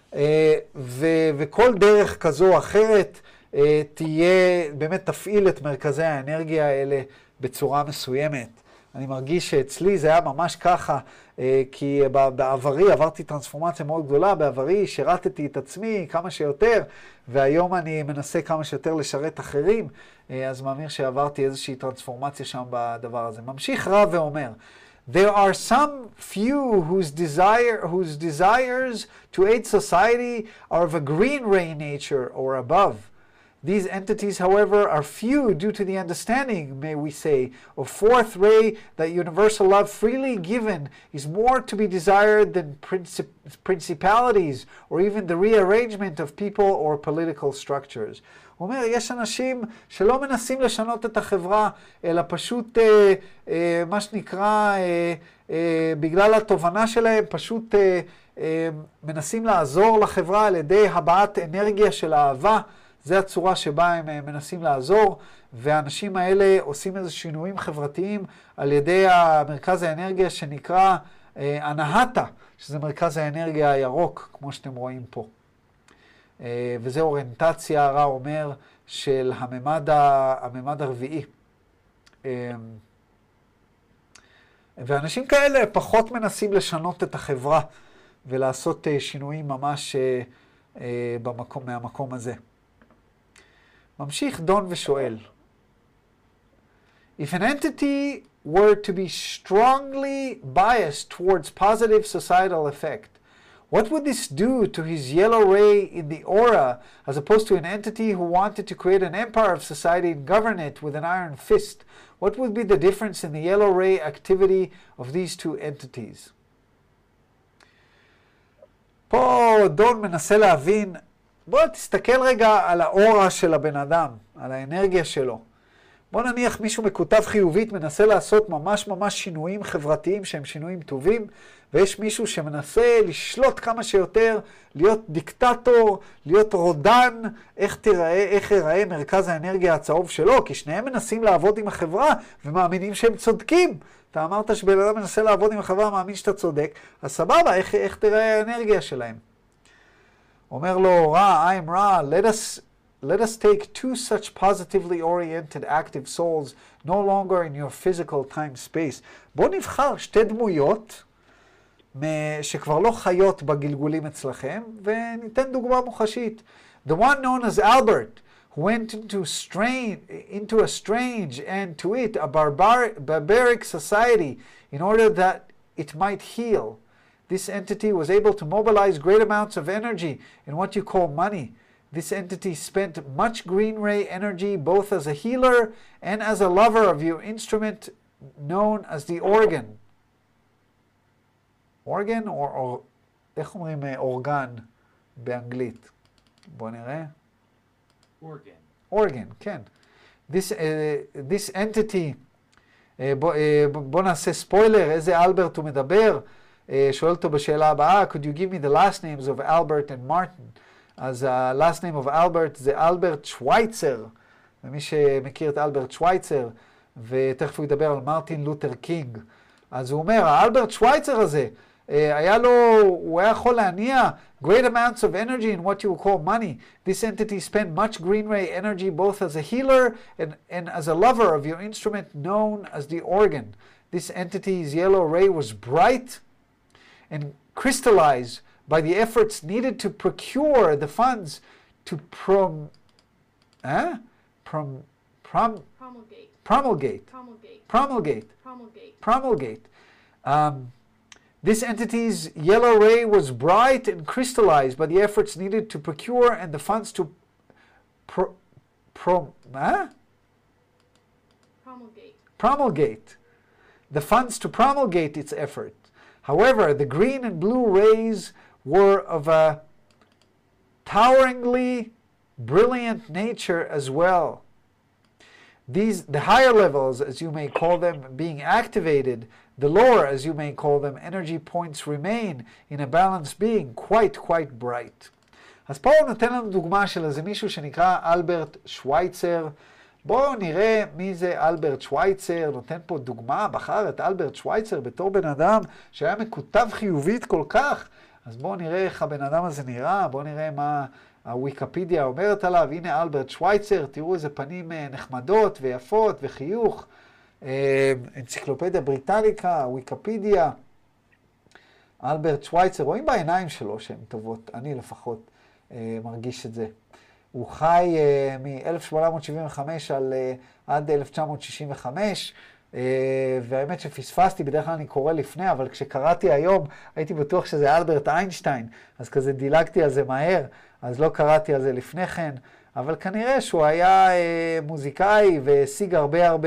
ו- וכל דרך כזו או אחרת תהיה, באמת תפעיל את מרכזי האנרגיה האלה בצורה מסוימת. אני מרגיש שאצלי זה היה ממש ככה, כי בעברי עברתי טרנספורמציה מאוד גדולה, בעברי שירתתי את עצמי כמה שיותר, והיום אני מנסה כמה שיותר לשרת אחרים, אז מאמין שעברתי איזושהי טרנספורמציה שם בדבר הזה. ממשיך רב ואומר, There are some few whose desire, whose desires to aid society are of a green ray nature or above. These entities, however, are few due to the understanding, may we say, of fourth ray that universal love freely given is more to be desired than princip principalities or even the rearrangement of people or political structures. הוא אומר, יש אנשים שלא מנסים לשנות את החברה, אלא פשוט, אה, אה, מה שנקרא, אה, אה, בגלל התובנה שלהם, פשוט אה, אה, מנסים לעזור לחברה על ידי הבעת אנרגיה של אהבה. זה הצורה שבה הם מנסים לעזור, והאנשים האלה עושים איזה שינויים חברתיים על ידי המרכז האנרגיה שנקרא אה, אנהטה, שזה מרכז האנרגיה הירוק, כמו שאתם רואים פה. אה, וזה אוריינטציה, רע אומר, של הממד, ה, הממד הרביעי. אה, ואנשים כאלה פחות מנסים לשנות את החברה, ולעשות אה, שינויים ממש אה, אה, במקום, מהמקום הזה. ממשיך דון ושואל, If an entity were to be strongly biased towards positive societal effect, what would this do to his yellow ray in the aura as opposed to an entity who wanted to create an empire of society and govern it with an iron fist? What would be the difference in the yellow ray activity of these two entities? פה דון מנסה להבין, בוא תסתכל רגע על האורה של הבן אדם, על האנרגיה שלו. בוא נניח מישהו מקוטב חיובית מנסה לעשות ממש ממש שינויים חברתיים שהם שינויים טובים, ויש מישהו שמנסה לשלוט כמה שיותר, להיות דיקטטור, להיות רודן, איך תיראה, איך ייראה מרכז האנרגיה הצהוב שלו, כי שניהם מנסים לעבוד עם החברה ומאמינים שהם צודקים. אתה אמרת שבן אדם מנסה לעבוד עם החברה, מאמין שאתה צודק, אז סבבה, איך, איך תיראה האנרגיה שלהם? אומר לו, רע, I'm רע, let us, let us take two such positively oriented active souls no longer in your physical time space. בוא נבחר שתי דמויות שכבר לא חיות בגלגולים אצלכם, וניתן דוגמה מוחשית. The one known as Albert, who went into, strain, into a strange and to it a barbar, barbaric society in order that it might heal. This entity was able to mobilize great amounts of energy in what you call money. This entity spent much green ray energy both as a healer and as a lover of your instrument known as the organ. Organ or, or איך אומרים אורגן באנגלית? בוא נראה. Organ. Organ, כן. This, uh, this entity, uh, בוא, uh, בוא נעשה ספוילר, איזה אלברט הוא מדבר? Uh, שואל אותו בשאלה הבאה, could you give me the last names of Albert and Martin? אז ה-last name of Albert זה אלברט שווייצר, ומי שמכיר את אלברט שווייצר, ותכף הוא ידבר על מרטין לותר קינג. אז הוא אומר, האלברט שווייצר הזה, היה לו, הוא היה יכול להניע great amounts of energy in what you would call money. This entity spent much green ray energy both as a healer and, and as a lover of your instrument known as the organ. This entity's yellow ray was bright and crystallized by the efforts needed to procure the funds to prom, eh? prom, prom, Promulgate. promulgate, Promulgate. promulgate, Promulgate. promulgate. Um, This entity's yellow ray was bright and crystallized by the efforts needed to procure and the funds to pro, pro, huh? Promulgate. promulgate. The funds to promulgate its effort. However, the green and blue rays were of a toweringly brilliant nature as well. These, the higher levels, as you may call them, being activated, the lower, as you may call them, energy points remain in a balanced being quite, quite bright. אז פה הוא נותן לנו דוגמה של איזה מישהו שנקרא אלברט שווייצר. בואו נראה מי זה אלברט שווייצר, נותן פה דוגמה, בחר את אלברט שווייצר בתור בן אדם שהיה מקוטב חיובית כל כך. אז בואו נראה איך הבן אדם הזה נראה, בואו נראה מה הוויקיפדיה אומרת עליו. הנה אלברט שווייצר, תראו איזה פנים נחמדות ויפות וחיוך. אנציקלופדיה בריטניקה, וויקיפדיה, אלברט שווייצר, רואים בעיניים שלו שהן טובות, אני לפחות מרגיש את זה. הוא חי מ-אלף שמונה מאות שבעים וחמש על, עד אלף תשע מאות שישים וחמש, והאמת שפספסתי, בדרך כלל אני קורא לפני, אבל כשקראתי היום הייתי בטוח שזה אלברט איינשטיין, אז כזה דילגתי על זה מהר, אז לא קראתי על זה לפני כן, אבל כנראה שהוא היה מוזיקאי והשיג הרבה הרבה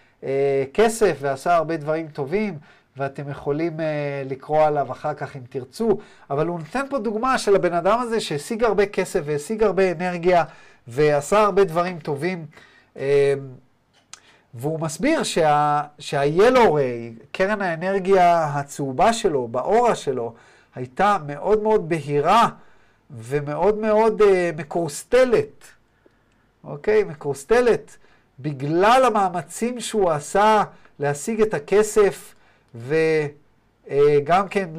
כסף ועשה הרבה דברים טובים, ואתם יכולים לקרוא עליו אחר כך אם תרצו, אבל הוא נותן פה דוגמה של הבן אדם הזה שהשיג הרבה כסף והשיג הרבה אנרגיה ועשה הרבה דברים טובים, והוא מסביר שה, שה-Yellow Ray, קרן האנרגיה הצהובה שלו, באורה שלו, הייתה מאוד מאוד בהירה ומאוד מאוד מקורסטלת, אוקיי? מקורסטלת. בגלל המאמצים שהוא עשה להשיג את הכסף וגם כן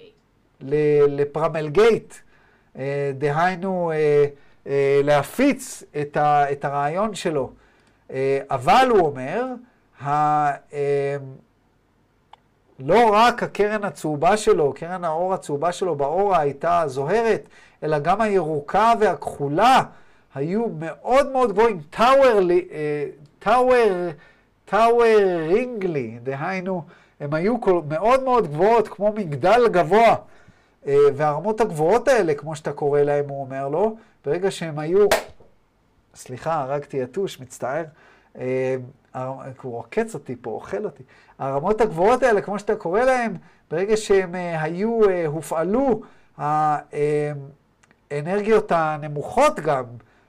לפרמלגייט, דהיינו להפיץ את הרעיון שלו. אבל הוא אומר, לא רק הקרן הצהובה שלו, קרן האור הצהובה שלו באורה הייתה זוהרת, אלא גם הירוקה והכחולה, היו מאוד מאוד גבוהים, טאוורלי, טאוור, טאוורינגלי, דהיינו, הם היו מאוד מאוד גבוהות, כמו מגדל גבוה, והרמות הגבוהות האלה, כמו שאתה קורא להם, הוא אומר לו, ברגע שהם היו, סליחה, הרגתי יתוש, מצטער, הוא עוקץ אותי פה, אוכל אותי, הרמות הגבוהות האלה, כמו שאתה קורא להם, ברגע שהם היו, הופעלו, האנרגיות הנמוכות גם,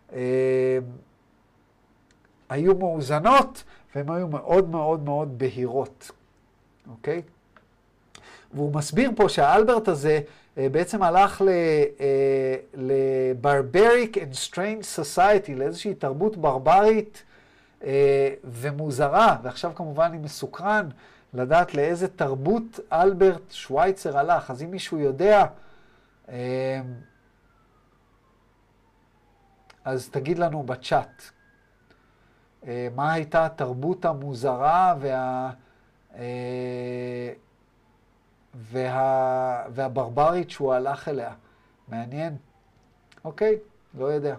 היו מאוזנות, והן היו מאוד מאוד מאוד בהירות. אוקיי? והוא מסביר פה שהאלברט הזה בעצם הלך ל-barbaric and strange society, לאיזושהי תרבות ברברית ומוזרה, ועכשיו כמובן אני מסוקרן לדעת לאיזה תרבות אלברט שווייצר הלך. אז אם מישהו יודע, אז תגיד לנו בצ'אט, מה הייתה התרבות המוזרה וה... וה, והברברית שהוא הלך אליה. מעניין. אוקיי, לא יודע.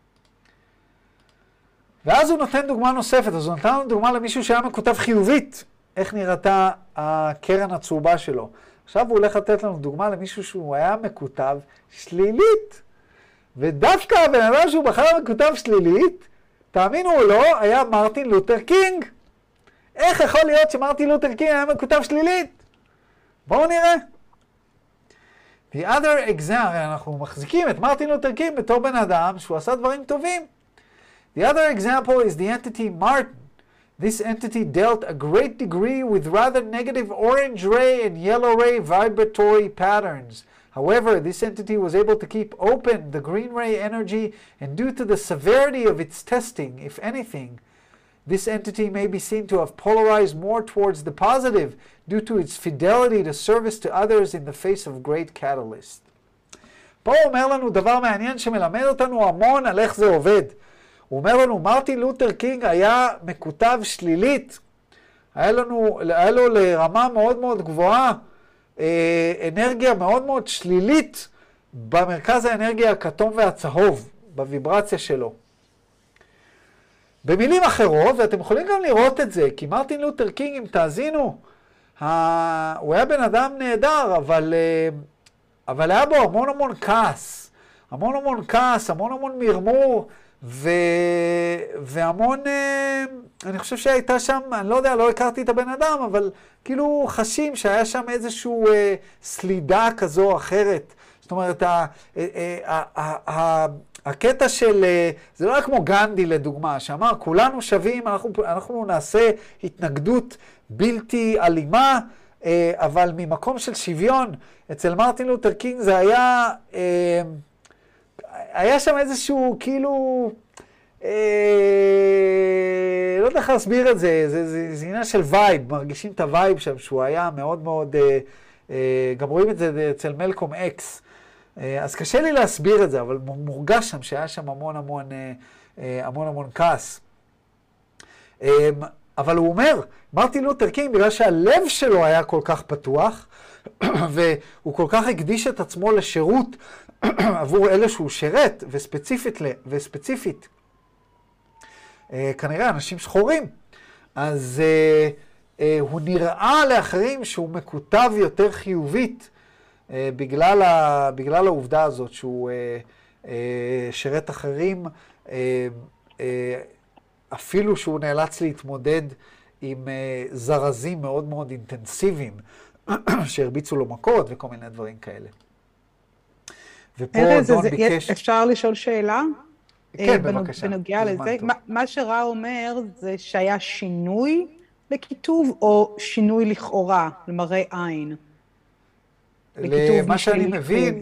ואז הוא נותן דוגמה נוספת, אז הוא נתן לנו דוגמה למישהו שהיה מקוטב חיובית, איך נראתה הקרן הצהובה שלו. עכשיו הוא הולך לתת לנו דוגמה למישהו שהוא היה מקוטב שלילית. ודווקא הבן אדם שהוא בחר מקוטב שלילית, תאמינו או לא, היה מרטין לותר קינג. איך יכול להיות שמרטין לותר קינג היה מקוטב שלילית? בואו נראה. The other example, אנחנו מחזיקים את מרטין לותר קינג בתור בן אדם שהוא עשה דברים טובים. The other example is the entity Martin. This entity dealt a great degree with rather negative orange ray and yellow ray vibratory patterns. However, this entity was able to keep open the green ray energy, and due to the severity of its testing, if anything, this entity may be seen to have polarized more towards the positive due to its fidelity to service to others in the face of great catalyst. פה הוא אומר לנו דבר מעניין שמלמד אותנו המון על איך זה עובד. הוא אומר לנו, מרטין לותר קינג היה מקוטב שלילית. היה, לנו, היה לו לרמה מאוד מאוד גבוהה, אה, אנרגיה מאוד מאוד שלילית במרכז האנרגיה הכתום והצהוב, בוויברציה שלו. במילים אחרות, ואתם יכולים גם לראות את זה, כי מרטין לותר קינג, אם תאזינו, ה... הוא היה בן אדם נהדר, אבל, אבל היה בו המון המון כעס. המון המון כעס, המון המון מרמור, ו... והמון, אני חושב שהייתה שם, אני לא יודע, לא הכרתי את הבן אדם, אבל כאילו חשים שהיה שם איזשהו אה, סלידה כזו או אחרת. זאת אומרת, ה... ה... ה... ה... הקטע של, זה לא היה כמו גנדי לדוגמה, שאמר, כולנו שווים, אנחנו, אנחנו נעשה התנגדות בלתי אלימה, אבל ממקום של שוויון, אצל מרטין לותר קינג זה היה, היה שם איזשהו כאילו, לא יודע איך להסביר את זה, זה, זה, זה עניין של וייב, מרגישים את הווייב שם, שהוא היה מאוד מאוד, גם רואים את זה אצל מלקום אקס, אז קשה לי להסביר את זה, אבל מורגש שם שהיה שם המון המון, המון המון כעס. אבל הוא אומר, מרטין לותר קינג, בגלל שהלב שלו היה כל כך פתוח, והוא כל כך הקדיש את עצמו לשירות עבור אלה שהוא שירת, וספציפית, וספציפית, כנראה אנשים שחורים, אז הוא נראה לאחרים שהוא מקוטב יותר חיובית, בגלל, ה, בגלל העובדה הזאת שהוא אה, אה, שרת אחרים, אה, אה, אפילו שהוא נאלץ להתמודד עם אה, זרזים מאוד מאוד אינטנסיביים, שהרביצו לו מכות וכל מיני דברים כאלה. ופה ארז, דון זה, ביקש... אפשר לשאול שאלה? כן, בבקשה. בנוגע לזה, מה, מה שראה אומר זה שהיה שינוי לכיתוב או שינוי לכאורה, למראה עין. למה שאני מבין,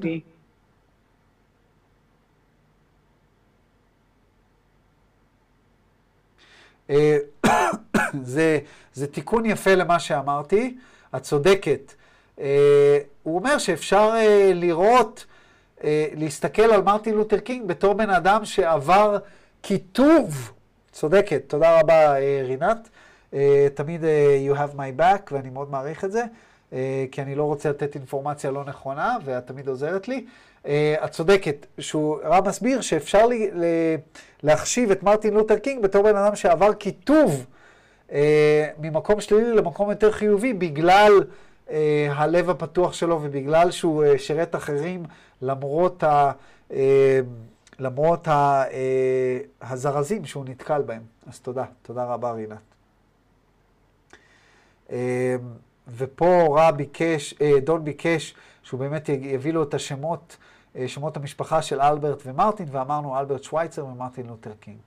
זה, זה תיקון יפה למה שאמרתי, את צודקת. הוא אומר שאפשר לראות, להסתכל על מרטין לותר קינג בתור בן אדם שעבר כיתוב. צודקת, תודה רבה רינת. תמיד you have my back ואני מאוד מעריך את זה. כי אני לא רוצה לתת אינפורמציה לא נכונה, ואת תמיד עוזרת לי. את צודקת, שהוא רב מסביר שאפשר לי, להחשיב את מרטין לותר קינג בתור בן אדם שעבר כיתוב ממקום שלילי למקום יותר חיובי, בגלל הלב הפתוח שלו, ובגלל שהוא שרת אחרים, למרות, ה, למרות ה, הזרזים שהוא נתקל בהם. אז תודה, תודה רבה רינת. ופה רע ביקש, דון ביקש, שהוא באמת יביא לו את השמות, שמות המשפחה של אלברט ומרטין, ואמרנו אלברט שווייצר ומרטין לותר קינג.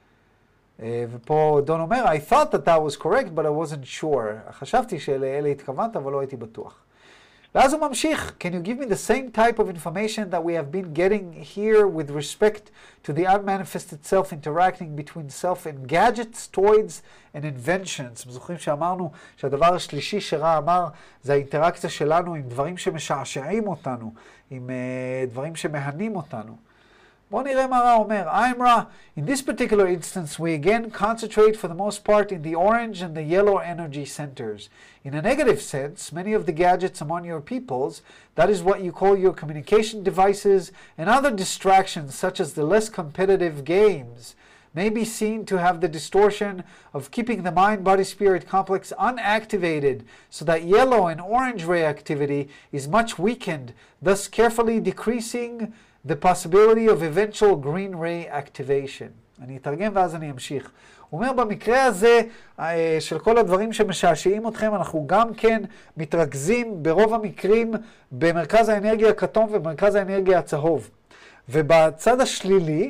ופה דון אומר, I thought that that was correct, but I wasn't sure. חשבתי שלאלה התכוונת, אבל לא הייתי בטוח. ואז הוא ממשיך, can you give me the same type of information that we have been getting here with respect to the unmanifested self interacting between self and gadgets, toys and inventions? זוכרים שאמרנו שהדבר השלישי שרע אמר, זה האינטראקציה שלנו עם דברים שמשעשעים אותנו, עם uh, דברים שמהנים אותנו. בואו נראה מה רע אומר. I'm רע. In this particular instance, we again concentrate for the most part in the orange and the yellow energy centers. In a negative sense, many of the gadgets among your peoples, that is what you call your communication devices and other distractions such as the less competitive games, may be seen to have the distortion of keeping the mind-body-spirit complex unactivated so that yellow and orange ray activity is much weakened, thus carefully decreasing the possibility of eventual green ray activation. אני אתרגם ואז אני אמשיך. הוא אומר, במקרה הזה של כל הדברים שמשעשעים אתכם, אנחנו גם כן מתרכזים ברוב המקרים במרכז האנרגיה הכתום ובמרכז האנרגיה הצהוב. ובצד השלילי,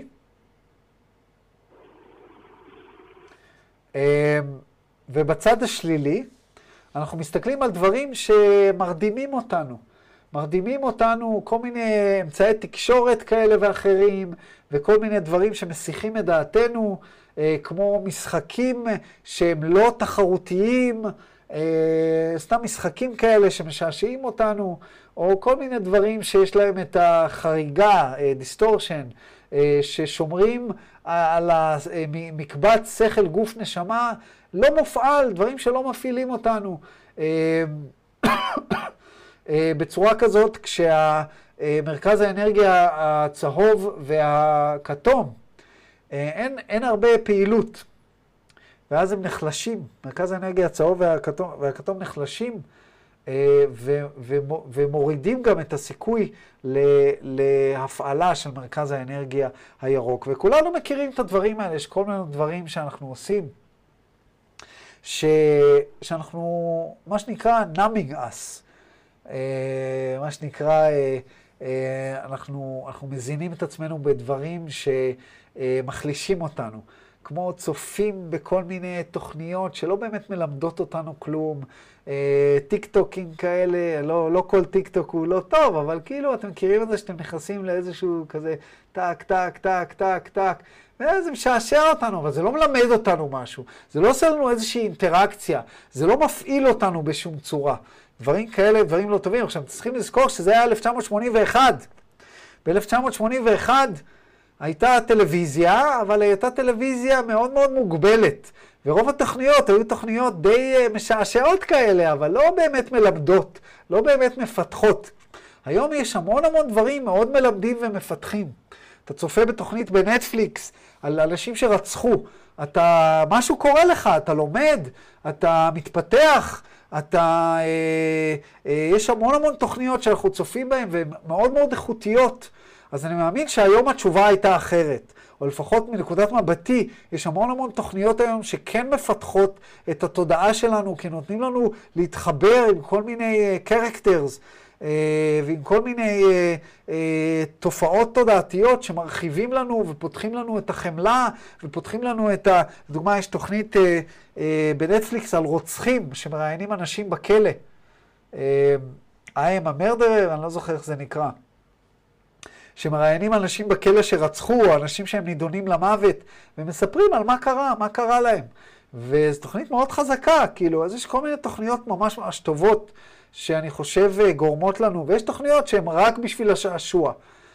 ובצד השלילי, אנחנו מסתכלים על דברים שמרדימים אותנו. מרדימים אותנו כל מיני אמצעי תקשורת כאלה ואחרים, וכל מיני דברים שמסיחים את דעתנו, כמו משחקים שהם לא תחרותיים, סתם משחקים כאלה שמשעשעים אותנו, או כל מיני דברים שיש להם את החריגה, דיסטורשן, ששומרים על מקבץ שכל גוף נשמה, לא מופעל, דברים שלא מפעילים אותנו. בצורה כזאת, כשהמרכז האנרגיה הצהוב והכתום, אין, אין הרבה פעילות, ואז הם נחלשים. מרכז האנרגיה הצהוב והכתום, והכתום נחלשים, ו, ו, ומורידים גם את הסיכוי להפעלה של מרכז האנרגיה הירוק. וכולנו מכירים את הדברים האלה, יש כל מיני דברים שאנחנו עושים, ש, שאנחנו, מה שנקרא, numbing us. מה שנקרא, אנחנו, אנחנו מזינים את עצמנו בדברים שמחלישים אותנו, כמו צופים בכל מיני תוכניות שלא באמת מלמדות אותנו כלום, טיק טוקים כאלה, לא, לא כל טיק טוק הוא לא טוב, אבל כאילו אתם מכירים את זה שאתם נכנסים לאיזשהו כזה טק, טק, טק, טק, טק, וזה משעשע אותנו, אבל זה לא מלמד אותנו משהו, זה לא עושה לנו איזושהי אינטראקציה, זה לא מפעיל אותנו בשום צורה. דברים כאלה, דברים לא טובים. עכשיו, צריכים לזכור שזה היה אלף תשע מאות שמונים ואחת. ב-אלף תשע מאות שמונים ואחת הייתה טלוויזיה, אבל הייתה טלוויזיה מאוד מאוד מוגבלת. ורוב התוכניות היו תוכניות די משעשעות כאלה, אבל לא באמת מלמדות, לא באמת מפתחות. היום יש המון המון דברים מאוד מלמדים ומפתחים. אתה צופה בתוכנית בנטפליקס על אנשים שרצחו. אתה, משהו קורה לך, אתה לומד, אתה מתפתח, אתה, אה, אה, יש המון המון תוכניות שאנחנו צופים בהן והן מאוד מאוד איכותיות. אז אני מאמין שהיום התשובה הייתה אחרת. או לפחות מנקודת מבטי, יש המון המון תוכניות היום שכן מפתחות את התודעה שלנו, כי נותנים לנו להתחבר עם כל מיני קרקטרס, אה, ועם כל מיני אה, אה, תופעות תודעתיות שמרחיבים לנו ופותחים לנו את החמלה, ופותחים לנו את ה... לדוגמה, יש תוכנית אה, אה, בנטפליקס על רוצחים שמראיינים אנשים בכלא. אה, I am a murderer, אני לא זוכר איך זה נקרא. שמראיינים אנשים בכלא שרצחו, או אנשים שהם נידונים למוות, ומספרים על מה קרה, מה קרה להם. וזו תוכנית מאוד חזקה, כאילו, אז יש כל מיני תוכניות ממש ממש טובות, שאני חושב גורמות לנו, ויש תוכניות שהן רק בשביל השעשוע.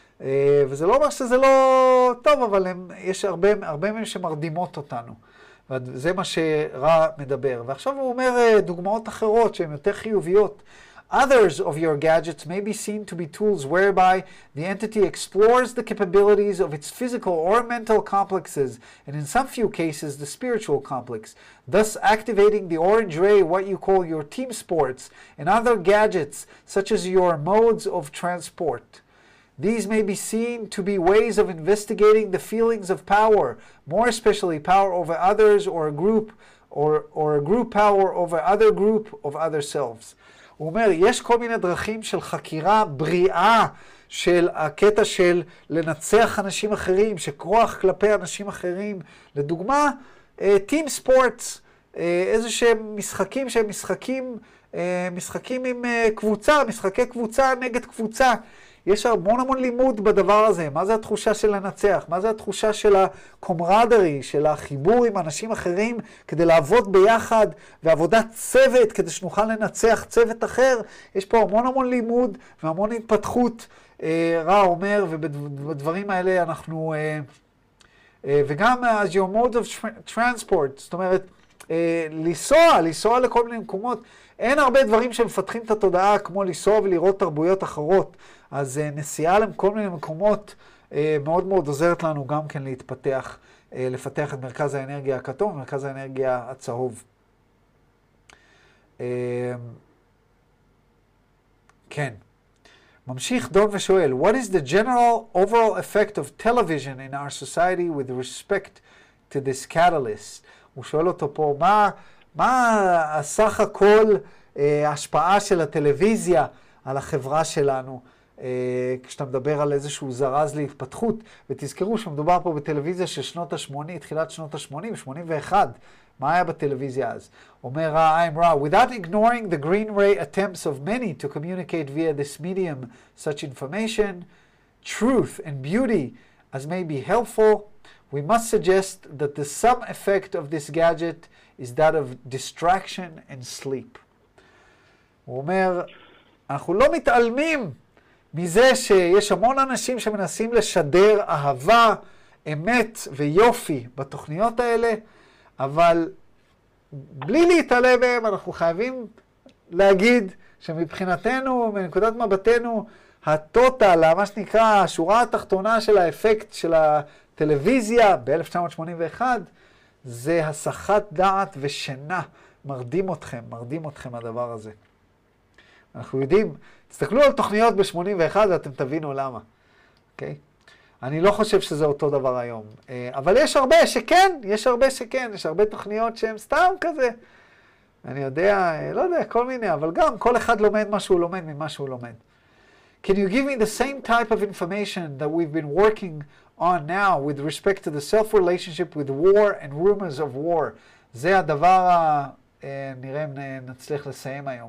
וזה לא אומר שזה לא טוב, אבל הם, יש הרבה, הרבה מהם שמרדימות אותנו. וזה מה שרע מדבר. ועכשיו הוא אומר דוגמאות אחרות שהן יותר חיוביות. Others of your gadgets may be seen to be tools whereby the entity explores the capabilities of its physical or mental complexes, and in some few cases the spiritual complex, thus activating the orange ray, what you call your team sports, and other gadgets such as your modes of transport. These may be seen to be ways of investigating the feelings of power, more especially power over others or a group, or, or a group power over other group of other selves. הוא אומר, יש כל מיני דרכים של חקירה בריאה של הקטע של לנצח אנשים אחרים, שכוח כלפי אנשים אחרים. לדוגמה, טים ספורטס, איזה שהם משחקים שהם משחקים, משחקים עם קבוצה, משחקי קבוצה נגד קבוצה. יש המון המון לימוד בדבר הזה. מה זה התחושה של לנצח? מה זה התחושה של הקומרדרי, של החיבור עם אנשים אחרים כדי לעבוד ביחד, ועבודת צוות כדי שנוכל לנצח צוות אחר? יש פה המון המון לימוד והמון התפתחות רע אומר, ובדברים האלה אנחנו, וגם as your mode of transport, זאת אומרת, לנסוע, לנסוע לכל מיני מקומות, אין הרבה דברים שמפתחים את התודעה כמו לנסוע ולראות תרבויות אחרות, אז נסיעה לכל מיני מקומות מאוד מאוד עוזרת לנו גם כן להתפתח, לפתח את מרכז האנרגיה הכתום, מרכז האנרגיה הצהוב. כן. ממשיך דון ושואל, What is the general overall effect of television in our society with respect to this catalyst? הוא שואל אותו פה, מה, מה הסך הכל ההשפעה של הטלוויזיה על החברה שלנו, כשאתה מדבר על איזשהו זרז להתפתחות, ותזכרו שמדובר פה בטלוויזיה של שנות ה-שמונים, תחילת שנות ה-שמונים, שמונים ואחת, מה היה בטלוויזיה אז? אומר I'm raw, without ignoring the green ray attempts of many to communicate via this medium such information, truth and beauty as may be helpful, we must suggest that the sum effect of this gadget is that of distraction and sleep. הוא אומר, אנחנו לא מתעלמים מזה שיש המון אנשים שמנסים לשדר אהבה, אמת ויופי בתוכניות האלה, אבל בלי להתעלם מהם אנחנו חייבים להגיד שמבחינתנו, מנקודת מבטנו, הטוטל, מה שנקרא, השורה התחתונה של האפקט של הטלוויזיה ב-אלף תשע מאות שמונים ואחת, זה הסחת דעת ושינה. מרדים אתכם, מרדים אתכם הדבר הזה. אנחנו יודעים, תסתכלו על תוכניות ב-שמונים ואחת ואתם תבינו למה. אוקיי? אני לא חושב שזה אותו דבר היום. אבל יש הרבה שכן, יש הרבה שכן, יש הרבה תוכניות שהן סתם כזה. אני יודע, לא יודע, כל מיני, אבל גם כל אחד לומד מה שהוא לומד ממה שהוא לומד. Can you give me the same type of information that we've been working on now with respect to the self-relationship with war and rumors of war? זה הדבר, נראה אם נצליח לסיים היום.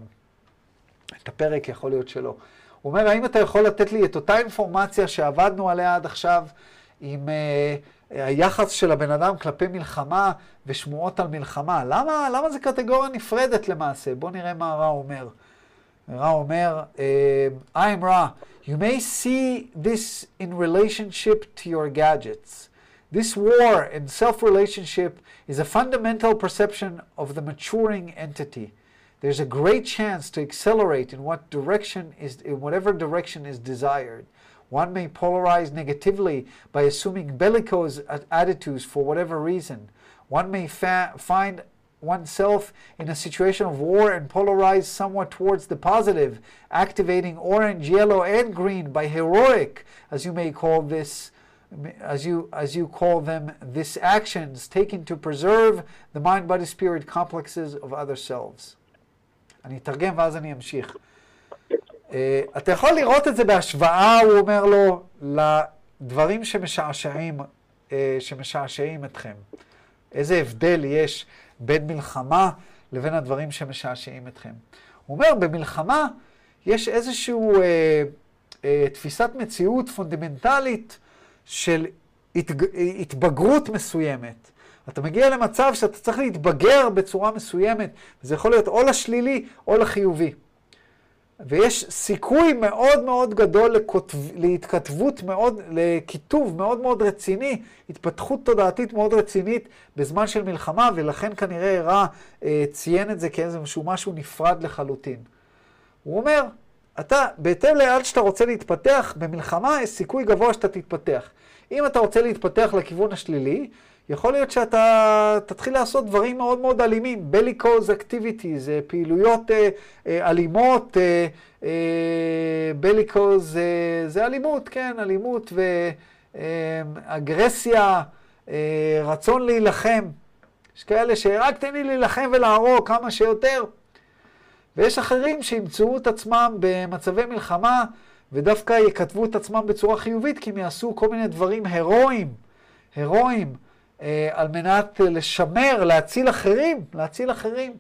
את הפרק יכול להיות שלא. הוא אומר, האם אתה יכול לתת לי את אותה אינפורמציה שעבדנו עליה עד עכשיו, עם uh, היחס של הבן אדם כלפי מלחמה ושמועות על מלחמה? למה, למה זה קטגוריה נפרדת למעשה? בוא נראה מה רע אומר. רע אומר, uh, I'm רע. You may see this in relationship to your gadgets. This war and self-relationship is a fundamental perception of the maturing entity. There's a great chance to accelerate in what direction is, in whatever direction is desired. One may polarize negatively by assuming bellicose attitudes for whatever reason. One may fa- find oneself in a situation of war and polarize somewhat towards the positive, activating orange, yellow, and green by heroic, as you may call this, as you as you call them, this actions taken to preserve the mind, body, spirit complexes of other selves. אני אתרגם ואז אני אמשיך. Uh, אתה יכול לראות את זה בהשוואה, הוא אומר לו, לדברים שמשעשעים, uh, שמשעשעים אתכם. איזה הבדל יש בין מלחמה לבין הדברים שמשעשעים אתכם. הוא אומר, במלחמה יש איזשהו uh, uh, תפיסת מציאות פונדמנטלית של התג... התבגרות מסוימת. אתה מגיע למצב שאתה צריך להתבגר בצורה מסוימת, וזה יכול להיות או לשלילי או לחיובי. ויש סיכוי מאוד מאוד גדול לכותב, להתכתבות מאוד, לכיתוב מאוד מאוד רציני, התפתחות תודעתית מאוד רצינית בזמן של מלחמה, ולכן כנראה רע אה, ציין את זה כאיזשהו משהו נפרד לחלוטין. הוא אומר, אתה, בהתאם לעד שאתה רוצה להתפתח, במלחמה יש סיכוי גבוה שאתה תתפתח. אם אתה רוצה להתפתח לכיוון השלילי, יכול להיות שאתה תתחיל לעשות דברים מאוד מאוד אלימים, bellicose activities, פעילויות אה, אה, אלימות, אה, אה, bellicose אה, זה אלימות, כן, אלימות ואגרסיה, אה, רצון להילחם. יש כאלה שרק תן לי להילחם ולהרוג כמה שיותר. ויש אחרים שימצאו את עצמם במצבי מלחמה, ודווקא יכתבו את עצמם בצורה חיובית, כי הם יעשו כל מיני דברים הרואיים, הרואיים, על מנת לשמר, להציל אחרים, להציל אחרים.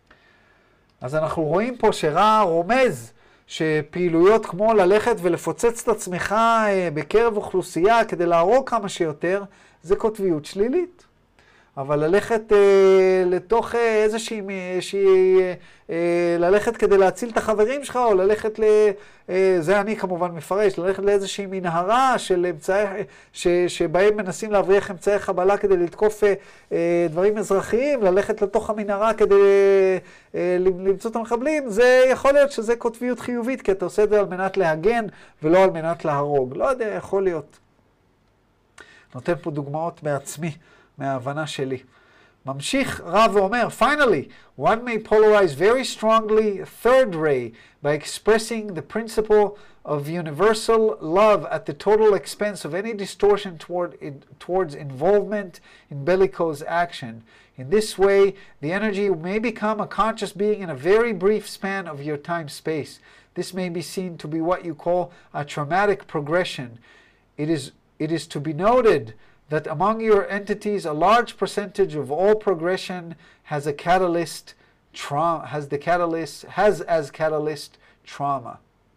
אז אנחנו רואים פה שרע רומז שפעילויות כמו ללכת ולפוצץ את עצמך בקרב אוכלוסייה כדי להרוג כמה שיותר, זה קוטביות שלילית. אבל ללכת אה, לתוך אה, איזושהי, שהיא, אה, ללכת כדי להציל את החברים שלך, או ללכת ל... אה, זה אני כמובן מפרש, ללכת לאיזושהי מנהרה של אמצעי, ש, שבהם מנסים להבריח אמצעי חבלה כדי לתקוף אה, אה, דברים אזרחיים, ללכת לתוך המנהרה כדי אה, למצוא את המחבלים, זה יכול להיות שזה קוטביות חיובית, כי אתה עושה את זה על מנת להגן ולא על מנת להרוג. לא יודע, יכול להיות. נותן פה דוגמאות מעצמי, מההבנה שלי. ממשיך רב ואומר, finally, one may polarize very strongly third ray by expressing the principle of universal love at the total expense of any distortion toward it, towards involvement in bellicose action. In this way, the energy may become a conscious being in a very brief span of your time-space. This may be seen to be what you call a traumatic progression. It is, it is to be noted that among your entities, a large percentage of all progression has a catalyst, tra- has the catalyst, has as catalyst trauma.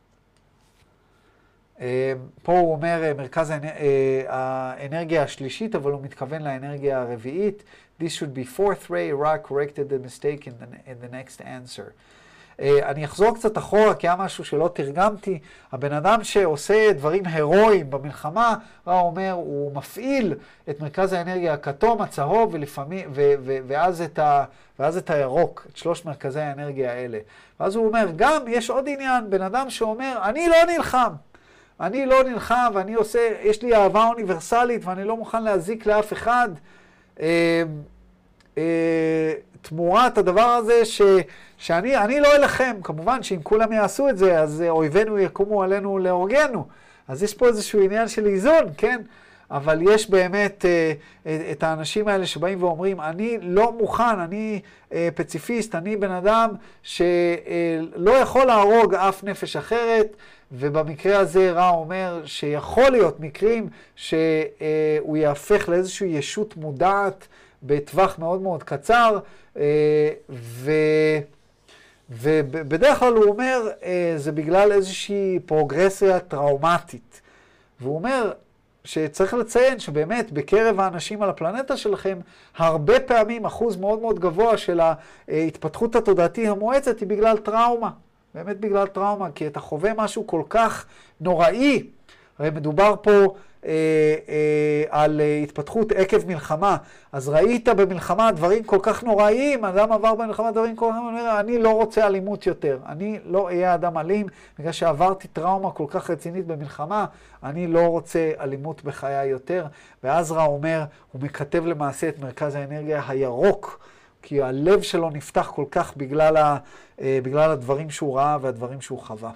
Uh, פה הוא אומר מרכז האנ... uh, האנרגיה השלישית, אבל הוא מתכוון לאנרגיה הרביעית. This should be fourth ray. Ra corrected the mistake in the, in the next answer. Uh, אני אחזור קצת אחורה, כי היה משהו שלא תרגמתי. הבן אדם שעושה דברים הירואיים במלחמה, רע אומר, הוא מפעיל את מרכז האנרגיה הכתום, הצהוב, ולפעמים, ו, ו, ואז, את ה, ואז את הירוק, את שלוש מרכזי האנרגיה האלה. ואז הוא אומר, גם יש עוד עניין, בן אדם שאומר, אני לא נלחם. אני לא נלחם, ואני עושה, יש לי אהבה אוניברסלית, ואני לא מוכן להזיק לאף אחד. אה, אה, תמורת הדבר הזה ש, שאני אני לא אלחם. כמובן שאם כולם יעשו את זה, אז אויבינו יקומו עלינו להורגנו. אז יש פה איזשהו עניין של איזון, כן? אבל יש באמת אה, את האנשים האלה שבאים ואומרים, אני לא מוכן, אני אה, פציפיסט, אני בן אדם שלא יכול להרוג אף נפש אחרת, ובמקרה הזה רע אומר שיכול להיות מקרים שהוא יהפך לאיזושהי ישות מודעת בטווח מאוד מאוד קצר, ו... ובדרך כלל הוא אומר, זה בגלל איזושהי פרוגרסיה טראומטית. והוא אומר שצריך לציין שבאמת בקרב האנשים על הפלנטה שלכם, הרבה פעמים אחוז מאוד מאוד גבוה של ההתפתחות התודעתי המואצת היא בגלל טראומה. באמת בגלל טראומה, כי אתה חווה משהו כל כך נוראי. הרי מדובר פה אה, אה, על התפתחות עקב מלחמה. אז ראית במלחמה דברים כל כך נוראיים, אדם עבר במלחמה דברים כל כך נוראיים, אני לא רוצה אלימות יותר. אני לא אהיה אדם אלים, בגלל שעברתי טראומה כל כך רצינית במלחמה, אני לא רוצה אלימות בחיי יותר. ואז רע אומר, הוא מכתב למעשה את מרכז האנרגיה הירוק, כי הלב שלו נפתח כל כך בגלל, ה, בגלל הדברים שהוא ראה והדברים שהוא חווה.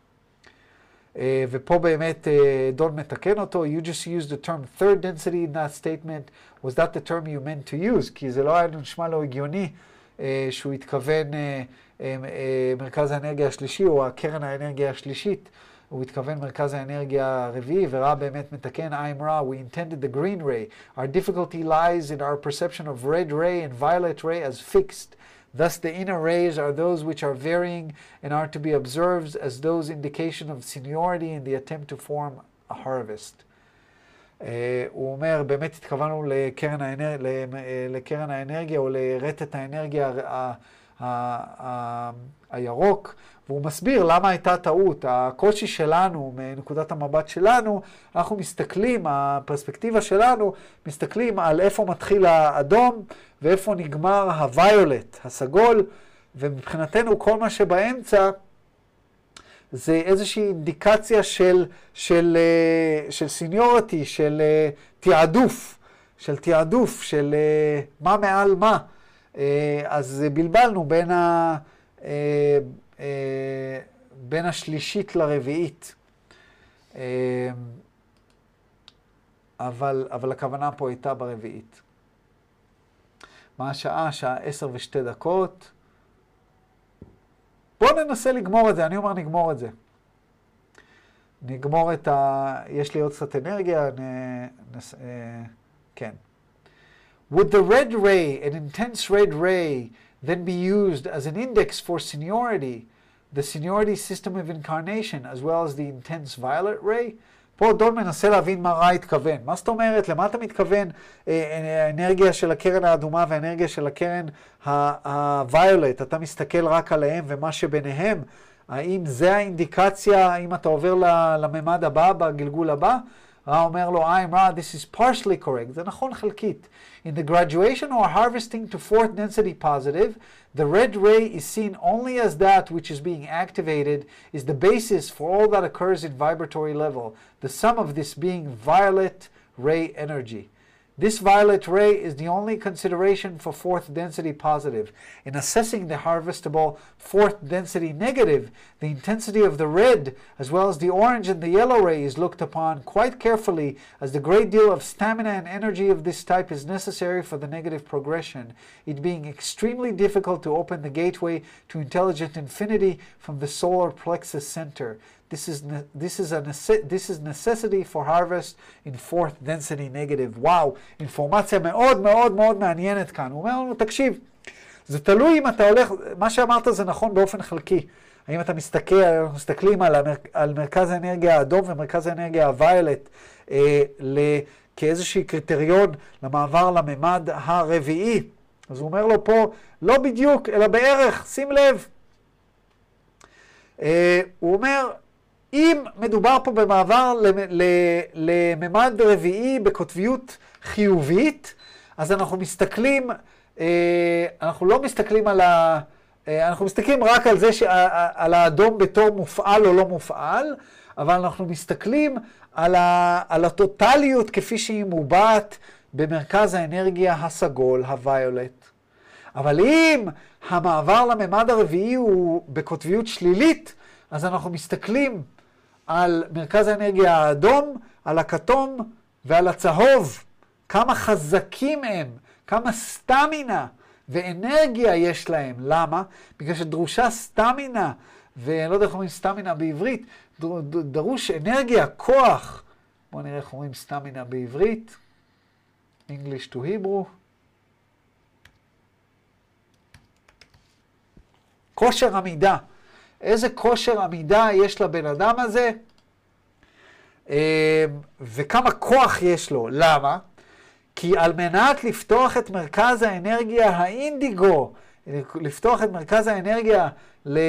ופה באמת דון מתקן אותו, you just used the term third density in that statement, was that the term you meant to use? כי זה לא היה נשמע לו הגיוני שהוא התכוון מרכז האנרגיה השלישי או הקרן האנרגיה השלישית, הוא התכוון מרכז האנרגיה הרביעי, ורע באמת מתקן, I'm Ra, we intended the green ray. Our difficulty lies in our perception of red ray and violet ray as fixed. Thus the inner rays are those which are varying and are to be observed as those indication of seniority in the attempt to form a harvest. Uh, הוא אומר, באמת התכוונו לקרן, האנר... לקרן האנרגיה או לרטט האנרגיה ה... ה... ה... הירוק, והוא מסביר למה הייתה טעות. הקושי שלנו, מנקודת המבט שלנו, אנחנו מסתכלים, הפרספקטיבה שלנו, מסתכלים על איפה מתחיל האדום ואיפה נגמר הוויולט, הסגול, ומבחינתנו כל מה שבאמצע זה איזושהי אינדיקציה של, של, של סיניורטי, של תיעדוף, של תיעדוף, של מה מעל מה. אז בלבלנו בין ה... בין השלישית לרביעית. אבל, אבל הכוונה פה הייתה ברביעית. מה השעה? שעה עשר ושתי דקות. בואו ננסה לגמור את זה. אני אומר נגמור את זה. נגמור את ה... יש לי עוד קצת אנרגיה. נ... נס... כן. Would the red ray, an intense red ray, then be used as an index for seniority, the seniority system of incarnation, as well as the intense violet ray? פה דון מנסה להבין מה רע התכוון. מה זאת אומרת? למה אתה מתכוון האנרגיה של הקרן האדומה והאנרגיה של הקרן הוויולט? אתה מסתכל רק עליהם ומה שביניהם? האם זה האינדיקציה, האם אתה עובר לממד הבא, בגלגול הבא? רע אומר לו, I'm Ra, this is partially correct. זה נכון חלקית. In the graduation or harvesting to fourth density positive, the red ray is seen only as that which is being activated is the basis for all that occurs in vibratory level, the sum of this being violet ray energy. This violet ray is the only consideration for fourth density positive. In assessing the harvestable fourth density negative, the intensity of the red, as well as the orange and the yellow ray, is looked upon quite carefully, as the great deal of stamina and energy of this type is necessary for the negative progression, it being extremely difficult to open the gateway to intelligent infinity from the solar plexus center. This is, this, is a this is necessity for harvest in fourth density negative. וואו, אינפורמציה מאוד מאוד מאוד מעניינת כאן. הוא אומר לנו, תקשיב, זה תלוי אם אתה הולך, מה שאמרת זה נכון באופן חלקי. האם אתה מסתכל, אנחנו מסתכלים על, המר, על מרכז האנרגיה האדום ומרכז האנרגיה הוויולט אה, כאיזושהי קריטריון למעבר לממד הרביעי. אז הוא אומר לו פה, לא בדיוק, אלא בערך, שים לב. אה, הוא אומר, אם מדובר פה במעבר לממד רביעי בקוטביות חיובית, אז אנחנו מסתכלים, אנחנו לא מסתכלים על ה... אנחנו מסתכלים רק על זה, על האדום בתור מופעל או לא מופעל, אבל אנחנו מסתכלים על, ה, על הטוטליות כפי שהיא מובעת במרכז האנרגיה הסגול, הוויולט. אבל אם המעבר לממד הרביעי הוא בקוטביות שלילית, אז אנחנו מסתכלים על מרכז האנרגיה האדום, על הכתום ועל הצהוב. כמה חזקים הם, כמה סטמינה ואנרגיה יש להם. למה? בגלל שדרושה סטמינה, ואני לא יודע איך אומרים סטמינה בעברית, דרוש אנרגיה, כוח. בואו נראה איך אומרים סטמינה בעברית. English to Hebrew. כושר עמידה. איזה כושר עמידה יש לבן אדם הזה, וכמה כוח יש לו. למה? כי על מנת לפתוח את מרכז האנרגיה האינדיגו, לפתוח את מרכז האנרגיה ל...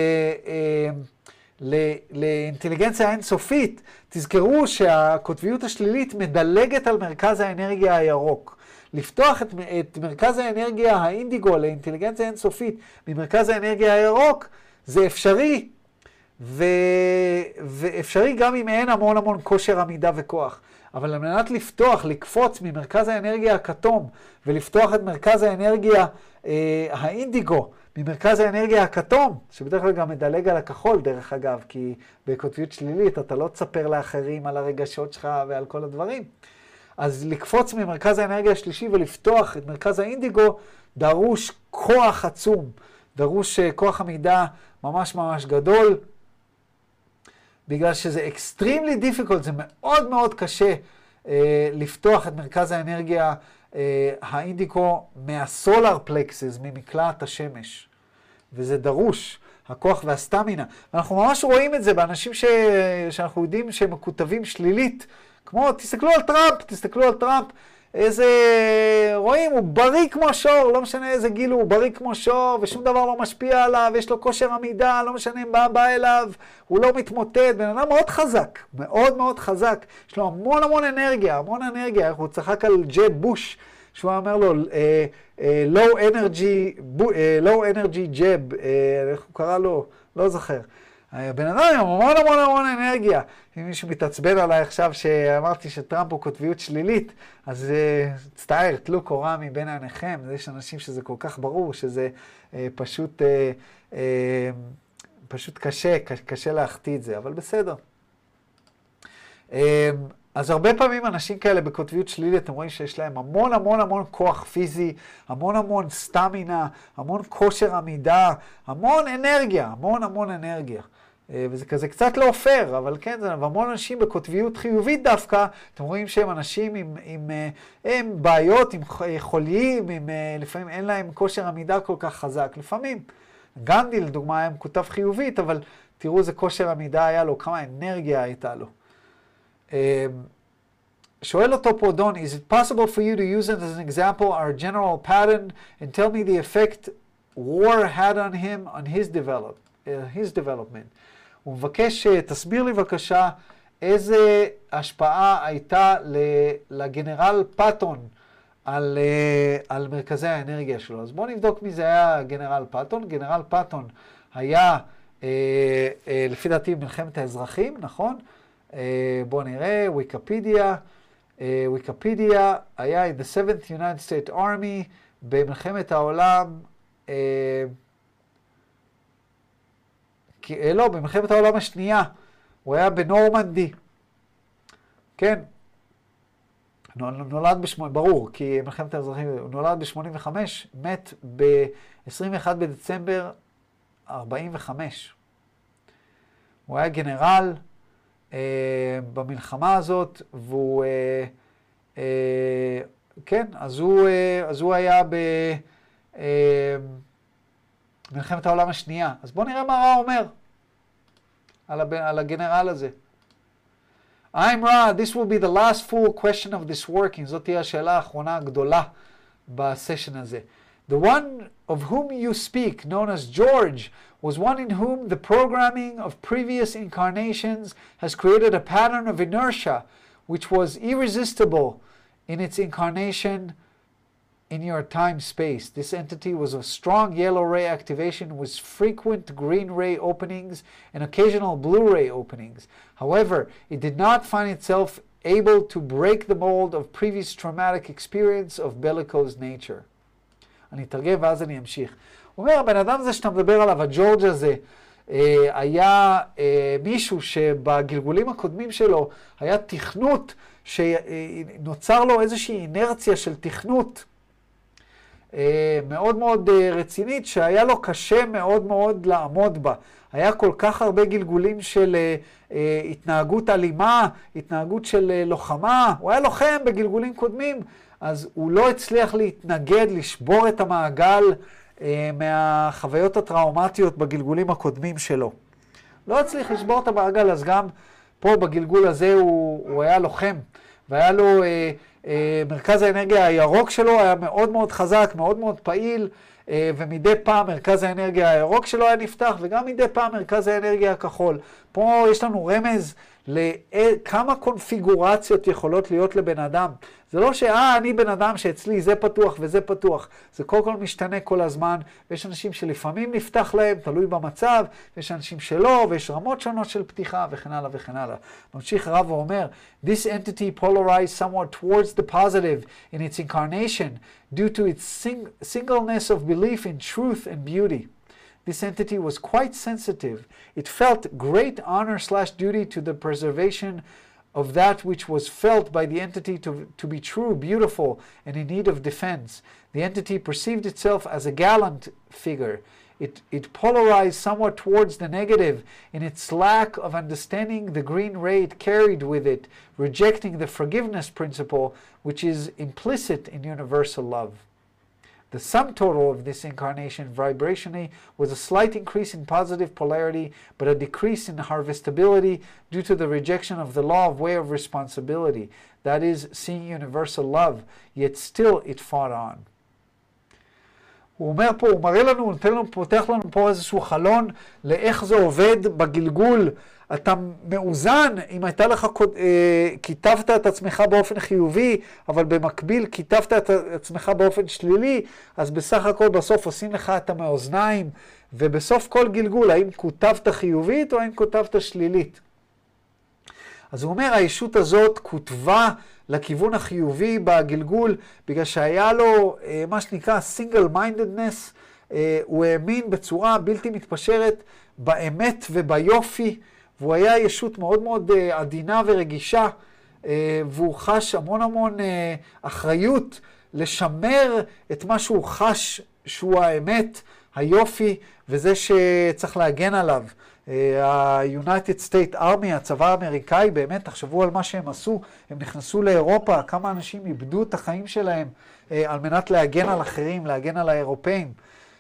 לאינטליגנציה אינסופית, תזכרו שהקוטביות השלילית מדלגת על מרכז האנרגיה הירוק. לפתוח את, את מרכז האנרגיה האינדיגו לאינטליגנציה אינסופית ממרכז האנרגיה הירוק, זה אפשרי, ו... ואפשרי גם אם אין המון המון כושר עמידה וכוח. אבל על מנת לפתוח, לקפוץ ממרכז האנרגיה הכתום, ולפתוח את מרכז האנרגיה אה, האינדיגו, ממרכז האנרגיה הכתום, שבדרך כלל גם מדלג על הכחול דרך אגב, כי בקוטביות שלילית אתה לא תספר לאחרים על הרגשות שלך ועל כל הדברים. אז לקפוץ ממרכז האנרגיה השלישי ולפתוח את מרכז האינדיגו, דרוש כוח עצום, דרוש כוח עמידה ממש ממש גדול, בגלל שזה extremely difficult, זה מאוד מאוד קשה אה, לפתוח את מרכז האנרגיה אה, האינדיקו מהסולר פלקסס, ממקלעת השמש. וזה דרוש, הכוח והסטמינה. ואנחנו ממש רואים את זה באנשים ש... שאנחנו יודעים שהם מקוטבים שלילית, כמו, תסתכלו על טראמפ, תסתכלו על טראמפ, איזה, רואים, הוא בריא כמו שור, לא משנה איזה גיל הוא, הוא בריא כמו שור, ושום דבר לא משפיע עליו, יש לו כושר עמידה, לא משנה אם בא, בא אליו, הוא לא מתמוטט, בן אדם מאוד חזק, מאוד מאוד חזק, יש לו המון המון אנרגיה, המון אנרגיה, הוא צחק על ג'ב בוש, שהוא אומר לו, uh, uh, low energy, uh, low energy jab, uh, איך הוא קרא לו? לא זוכר. בן אדם עם המון המון המון אנרגיה. אם מישהו מתעצבן עליי עכשיו שאמרתי שטראמפ הוא קוטביות שלילית, אז uh, תצטער, תלו קורה מבין עיניכם. יש אנשים שזה כל כך ברור, שזה uh, פשוט, uh, uh, פשוט קשה, קשה להחטיא את זה, אבל בסדר. Uh, אז הרבה פעמים אנשים כאלה בקוטביות שלילית, אתם רואים שיש להם המון המון המון כוח פיזי, המון המון סטמינה, המון כושר עמידה, המון אנרגיה, המון המון אנרגיה. וזה כזה קצת לא פייר, אבל כן, זה המון אנשים בקוטביות חיובית דווקא, אתם רואים שהם אנשים עם, עם, עם בעיות, עם חוליים, עם, לפעמים אין להם כושר עמידה כל כך חזק, לפעמים. גנדי לדוגמה היה מקוטב חיובית, אבל תראו איזה כושר עמידה היה לו, כמה אנרגיה הייתה לו. שואל אותו פה דון, is it possible for you to use it as an example, our general pattern, and tell me the effect war had on him, on his, develop, uh, his development. הוא מבקש, תסביר לי בבקשה, איזה השפעה הייתה לגנרל פאטון על, על מרכזי האנרגיה שלו. אז בואו נבדוק מי זה היה גנרל פאטון. גנרל פאטון היה, אה, אה, לפי דעתי, מלחמת האזרחים, נכון? אה, בואו נראה, ויקיפדיה. אה, ויקיפדיה היה in the seventh United States Army במלחמת העולם, אה, כי, לא, במלחמת העולם השנייה. הוא היה בנורמנדי. כן. נולד בשמונה, ברור, כי מלחמת האזרחים, הוא נולד ב-שמונים וחמש, מת ב-עשרים ואחד בדצמבר ארבעים וחמש. הוא היה גנרל אה, במלחמה הזאת, והוא, אה, אה, כן, אז הוא, אה, אז הוא היה במלחמת אה, העולם השנייה. אז בואו נראה מה רע אומר על, הב, על הגנרל הזה. I'm Ra, this will be the last full question of this working. זאת תהיה השאלה האחרונה הגדולה בסשן הזה. The one of whom you speak, known as George, was one in whom the programming of previous incarnations has created a pattern of inertia which was irresistible in its incarnation in your time-space. This entity was of strong yellow ray activation with frequent green ray openings and occasional blue ray openings. However, it did not find itself able to break the mold of previous traumatic experience of bellicose nature. אני אתרגם ואז אני אמשיך. הוא אומר, הבן אדם הזה שאתה מדבר עליו, הג'ורג' הזה, היה מישהו שבגלגולים הקודמים שלו היה תכנות, שנוצר לו איזושהי אינרציה של תכנות, מאוד מאוד רצינית, שהיה לו קשה מאוד מאוד לעמוד בה. היה כל כך הרבה גלגולים של התנהגות אלימה, התנהגות של לוחמה. הוא היה לוחם בגלגולים קודמים, אז הוא לא הצליח להתנגד, לשבור את המעגל מהחוויות הטראומטיות בגלגולים הקודמים שלו. לא הצליח לשבור את המעגל, אז גם פה בגלגול הזה הוא, הוא היה לוחם, והיה לו... מרכז האנרגיה הירוק שלו היה מאוד מאוד חזק, מאוד מאוד פעיל, ומדי פעם מרכז האנרגיה הירוק שלו היה נפתח, וגם מדי פעם מרכז האנרגיה הכחול. פה יש לנו רמז לכמה קונפיגורציות יכולות להיות לבן אדם. זה לא שאה, אני בן אדם שאצלי זה פתוח וזה פתוח. זה כל כל משתנה כל הזמן, ויש אנשים שלפעמים נפתח להם, תלוי במצב, ויש אנשים שלא, ויש רמות שונות של פתיחה, וכן הלאה וכן הלאה. ממשיך הרב ואומר, This entity polarized somewhat towards the positive in its incarnation, due to its sing singleness of belief in truth and beauty. This entity was quite sensitive. It felt great honor slash duty to the preservation of that which was felt by the entity to, to be true, beautiful, and in need of defense. The entity perceived itself as a gallant figure. It, it polarized somewhat towards the negative in its lack of understanding the green ray it carried with it, rejecting the forgiveness principle which is implicit in universal love. The sum total of this incarnation vibrationally was a slight increase in positive polarity, but a decrease in harvestability due to the rejection of the law of way of responsibility, that is, seeing universal love, yet still it fought on. הוא אומר פה, הוא מראה לנו, הוא נותן לנו, פותח לנו פה איזשהו חלון לאיך זה עובד בגלגול. אתה מאוזן, אם הייתה לך, אה, כיתבת את עצמך באופן חיובי, אבל במקביל כיתבת את עצמך באופן שלילי, אז בסך הכל בסוף עושים לך את המאוזניים, ובסוף כל גלגול, האם כותבת חיובית או האם כותבת שלילית. אז הוא אומר, הישות הזאת כותבה לכיוון החיובי בגלגול, בגלל שהיה לו אה, מה שנקרא single mindedness, אה, הוא האמין בצורה בלתי מתפשרת באמת וביופי, והוא היה ישות מאוד מאוד אה, עדינה ורגישה, אה, והוא חש המון המון אה, אחריות לשמר את מה שהוא חש שהוא האמת, היופי, וזה שצריך להגן עליו. ה-United States Army, הצבא האמריקאי, באמת, תחשבו על מה שהם עשו, הם נכנסו לאירופה, כמה אנשים איבדו את החיים שלהם על מנת להגן על אחרים, להגן על האירופאים.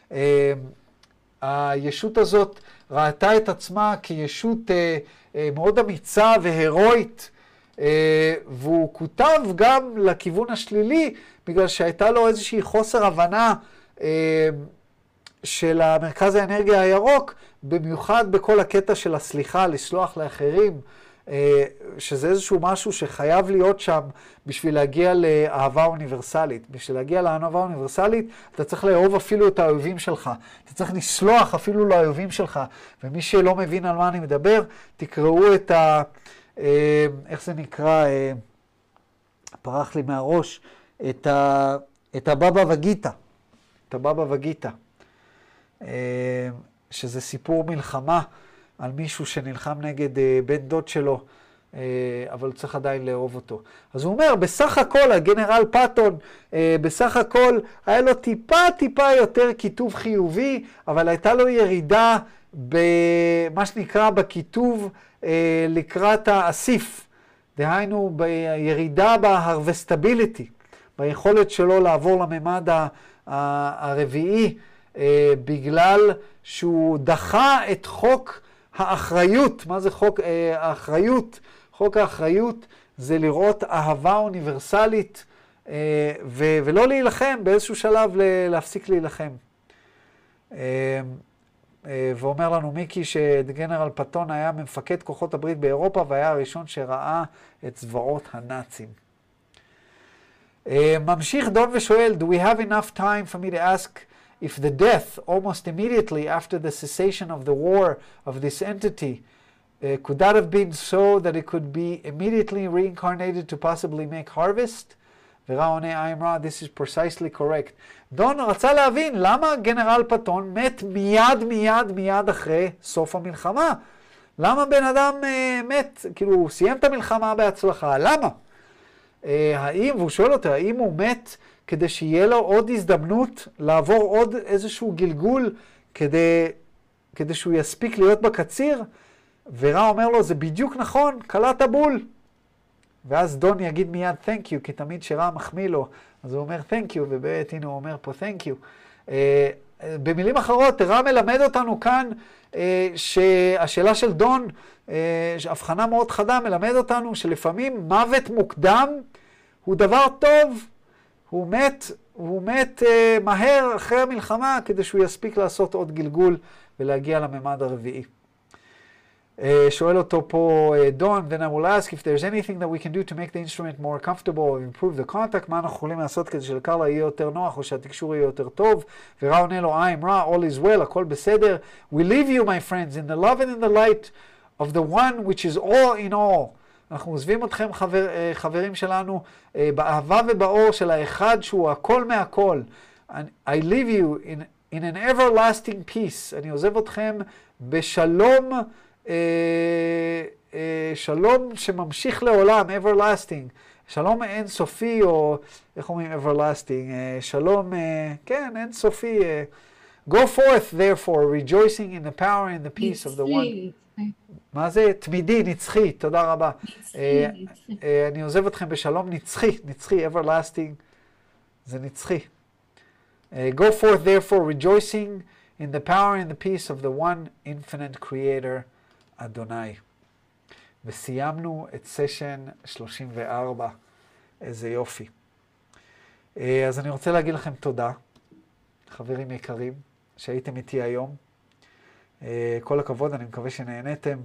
הישות הזאת ראתה את עצמה כישות מאוד אמיצה והירואית, והוא כותב גם לכיוון השלילי, בגלל שהייתה לו איזושהי חוסר הבנה של המרכז האנרגיה הירוק, במיוחד בכל הקטע של הסליחה, לסלוח לאחרים, שזה איזשהו משהו שחייב להיות שם בשביל להגיע לאהבה אוניברסלית. בשביל להגיע לאהבה אוניברסלית, אתה צריך לאהוב אפילו את האויבים שלך. אתה צריך לסלוח אפילו לאויבים שלך. ומי שלא מבין על מה אני מדבר, תקראו את ה... איך זה נקרא? פרח לי מהראש. את ה... את הבבא וגיטה. את הבבא וגיטה. שזה סיפור מלחמה על מישהו שנלחם נגד בן דוד שלו, אבל צריך עדיין לאהוב אותו. אז הוא אומר, בסך הכל, הגנרל פטון, בסך הכל, היה לו טיפה טיפה יותר כיתוב חיובי, אבל הייתה לו ירידה במה שנקרא בכיתוב לקראת האסיף. דהיינו, בירידה בהרווסטביליטי, ביכולת שלו לעבור לממד הרביעי, בגלל שהוא דחה את חוק האחריות. מה זה חוק האחריות? חוק האחריות זה לראות אהבה אוניברסלית ו- ולא להילחם, באיזשהו שלב להפסיק להילחם. ואומר לנו מיקי שגנרל פטון היה מפקד כוחות הברית באירופה והיה הראשון שראה את זוועות הנאצים. ממשיך דון ושואל, do we have enough time for me to ask if the death, almost immediately after the cessation of the war of this entity, uh, could that have been so that it could be immediately reincarnated to possibly make harvest? ורע עונה I'm right, this is precisely correct. דון רצה להבין למה גנרל פטון מת מיד מיד מיד אחרי סוף המלחמה. למה בן אדם uh, מת, כאילו הוא סיים את המלחמה בהצלחה, למה? Uh, האם, והוא שואל אותו, האם הוא מת כדי שיהיה לו עוד הזדמנות לעבור עוד איזשהו גלגול כדי, כדי שהוא יספיק להיות בקציר? ורע אומר לו, זה בדיוק נכון, קלעת בול. ואז דון יגיד מיד thank you, כי תמיד שרע מחמיא לו, אז הוא אומר thank you, ובאמת הנה הוא אומר פה thank you. Uh, במילים אחרות, רע מלמד אותנו כאן uh, שהשאלה של דון, uh, הבחנה מאוד חדה, מלמד אותנו שלפעמים מוות מוקדם הוא דבר טוב. הוא מת, הוא מת uh, מהר אחרי המלחמה כדי שהוא יספיק לעשות עוד גלגול ולהגיע לממד הרביעי. Uh, שואל אותו פה uh, דון, then I will ask if there's anything that we can do to make the instrument more comfortable or improve the contact, מה אנחנו יכולים לעשות כדי שלקרלה יהיה יותר נוח או שהתקשור יהיה יותר טוב? ורע עונה לו, I'm רע, all is well, הכל בסדר. We leave you, my friends, in the love and in the light of the one which is all in all. אנחנו עוזבים אתכם חבר, חברים שלנו באהבה ובאור של האחד שהוא הכל מהכל. I leave you in, in an everlasting peace. אני עוזב אתכם בשלום, שלום שממשיך לעולם, everlasting. שלום אינסופי, או איך אומרים everlasting? שלום, כן, אינסופי. Go forth, therefore, rejoicing in the power and the peace of the one. מה זה? תמידי, נצחי, תודה רבה. אני עוזב אתכם בשלום נצחי, נצחי, everlasting, זה נצחי. Go forth therefore rejoicing in the power and the peace of the one infinite creator, אדוני. וסיימנו את סשן שלושים וארבע, איזה יופי. אז אני רוצה להגיד לכם תודה, חברים יקרים, שהייתם איתי היום. כל הכבוד, אני מקווה שנהנתם.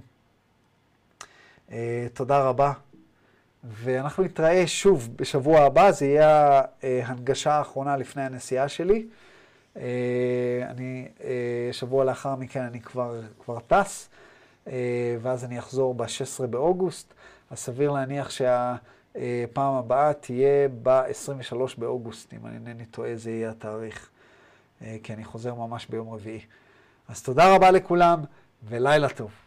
תודה רבה. ואנחנו נתראה שוב בשבוע הבא, זה יהיה ההנגשה האחרונה לפני הנסיעה שלי. אני, שבוע לאחר מכן אני כבר, כבר טס, ואז אני אחזור ב-שישה עשר באוגוסט. אז סביר להניח שהפעם הבאה תהיה ב-עשרים ושלושה באוגוסט, אם אני אינני טועה, זה יהיה התאריך, כי אני חוזר ממש ביום רביעי. אז תודה רבה לכולם, ולילה טוב.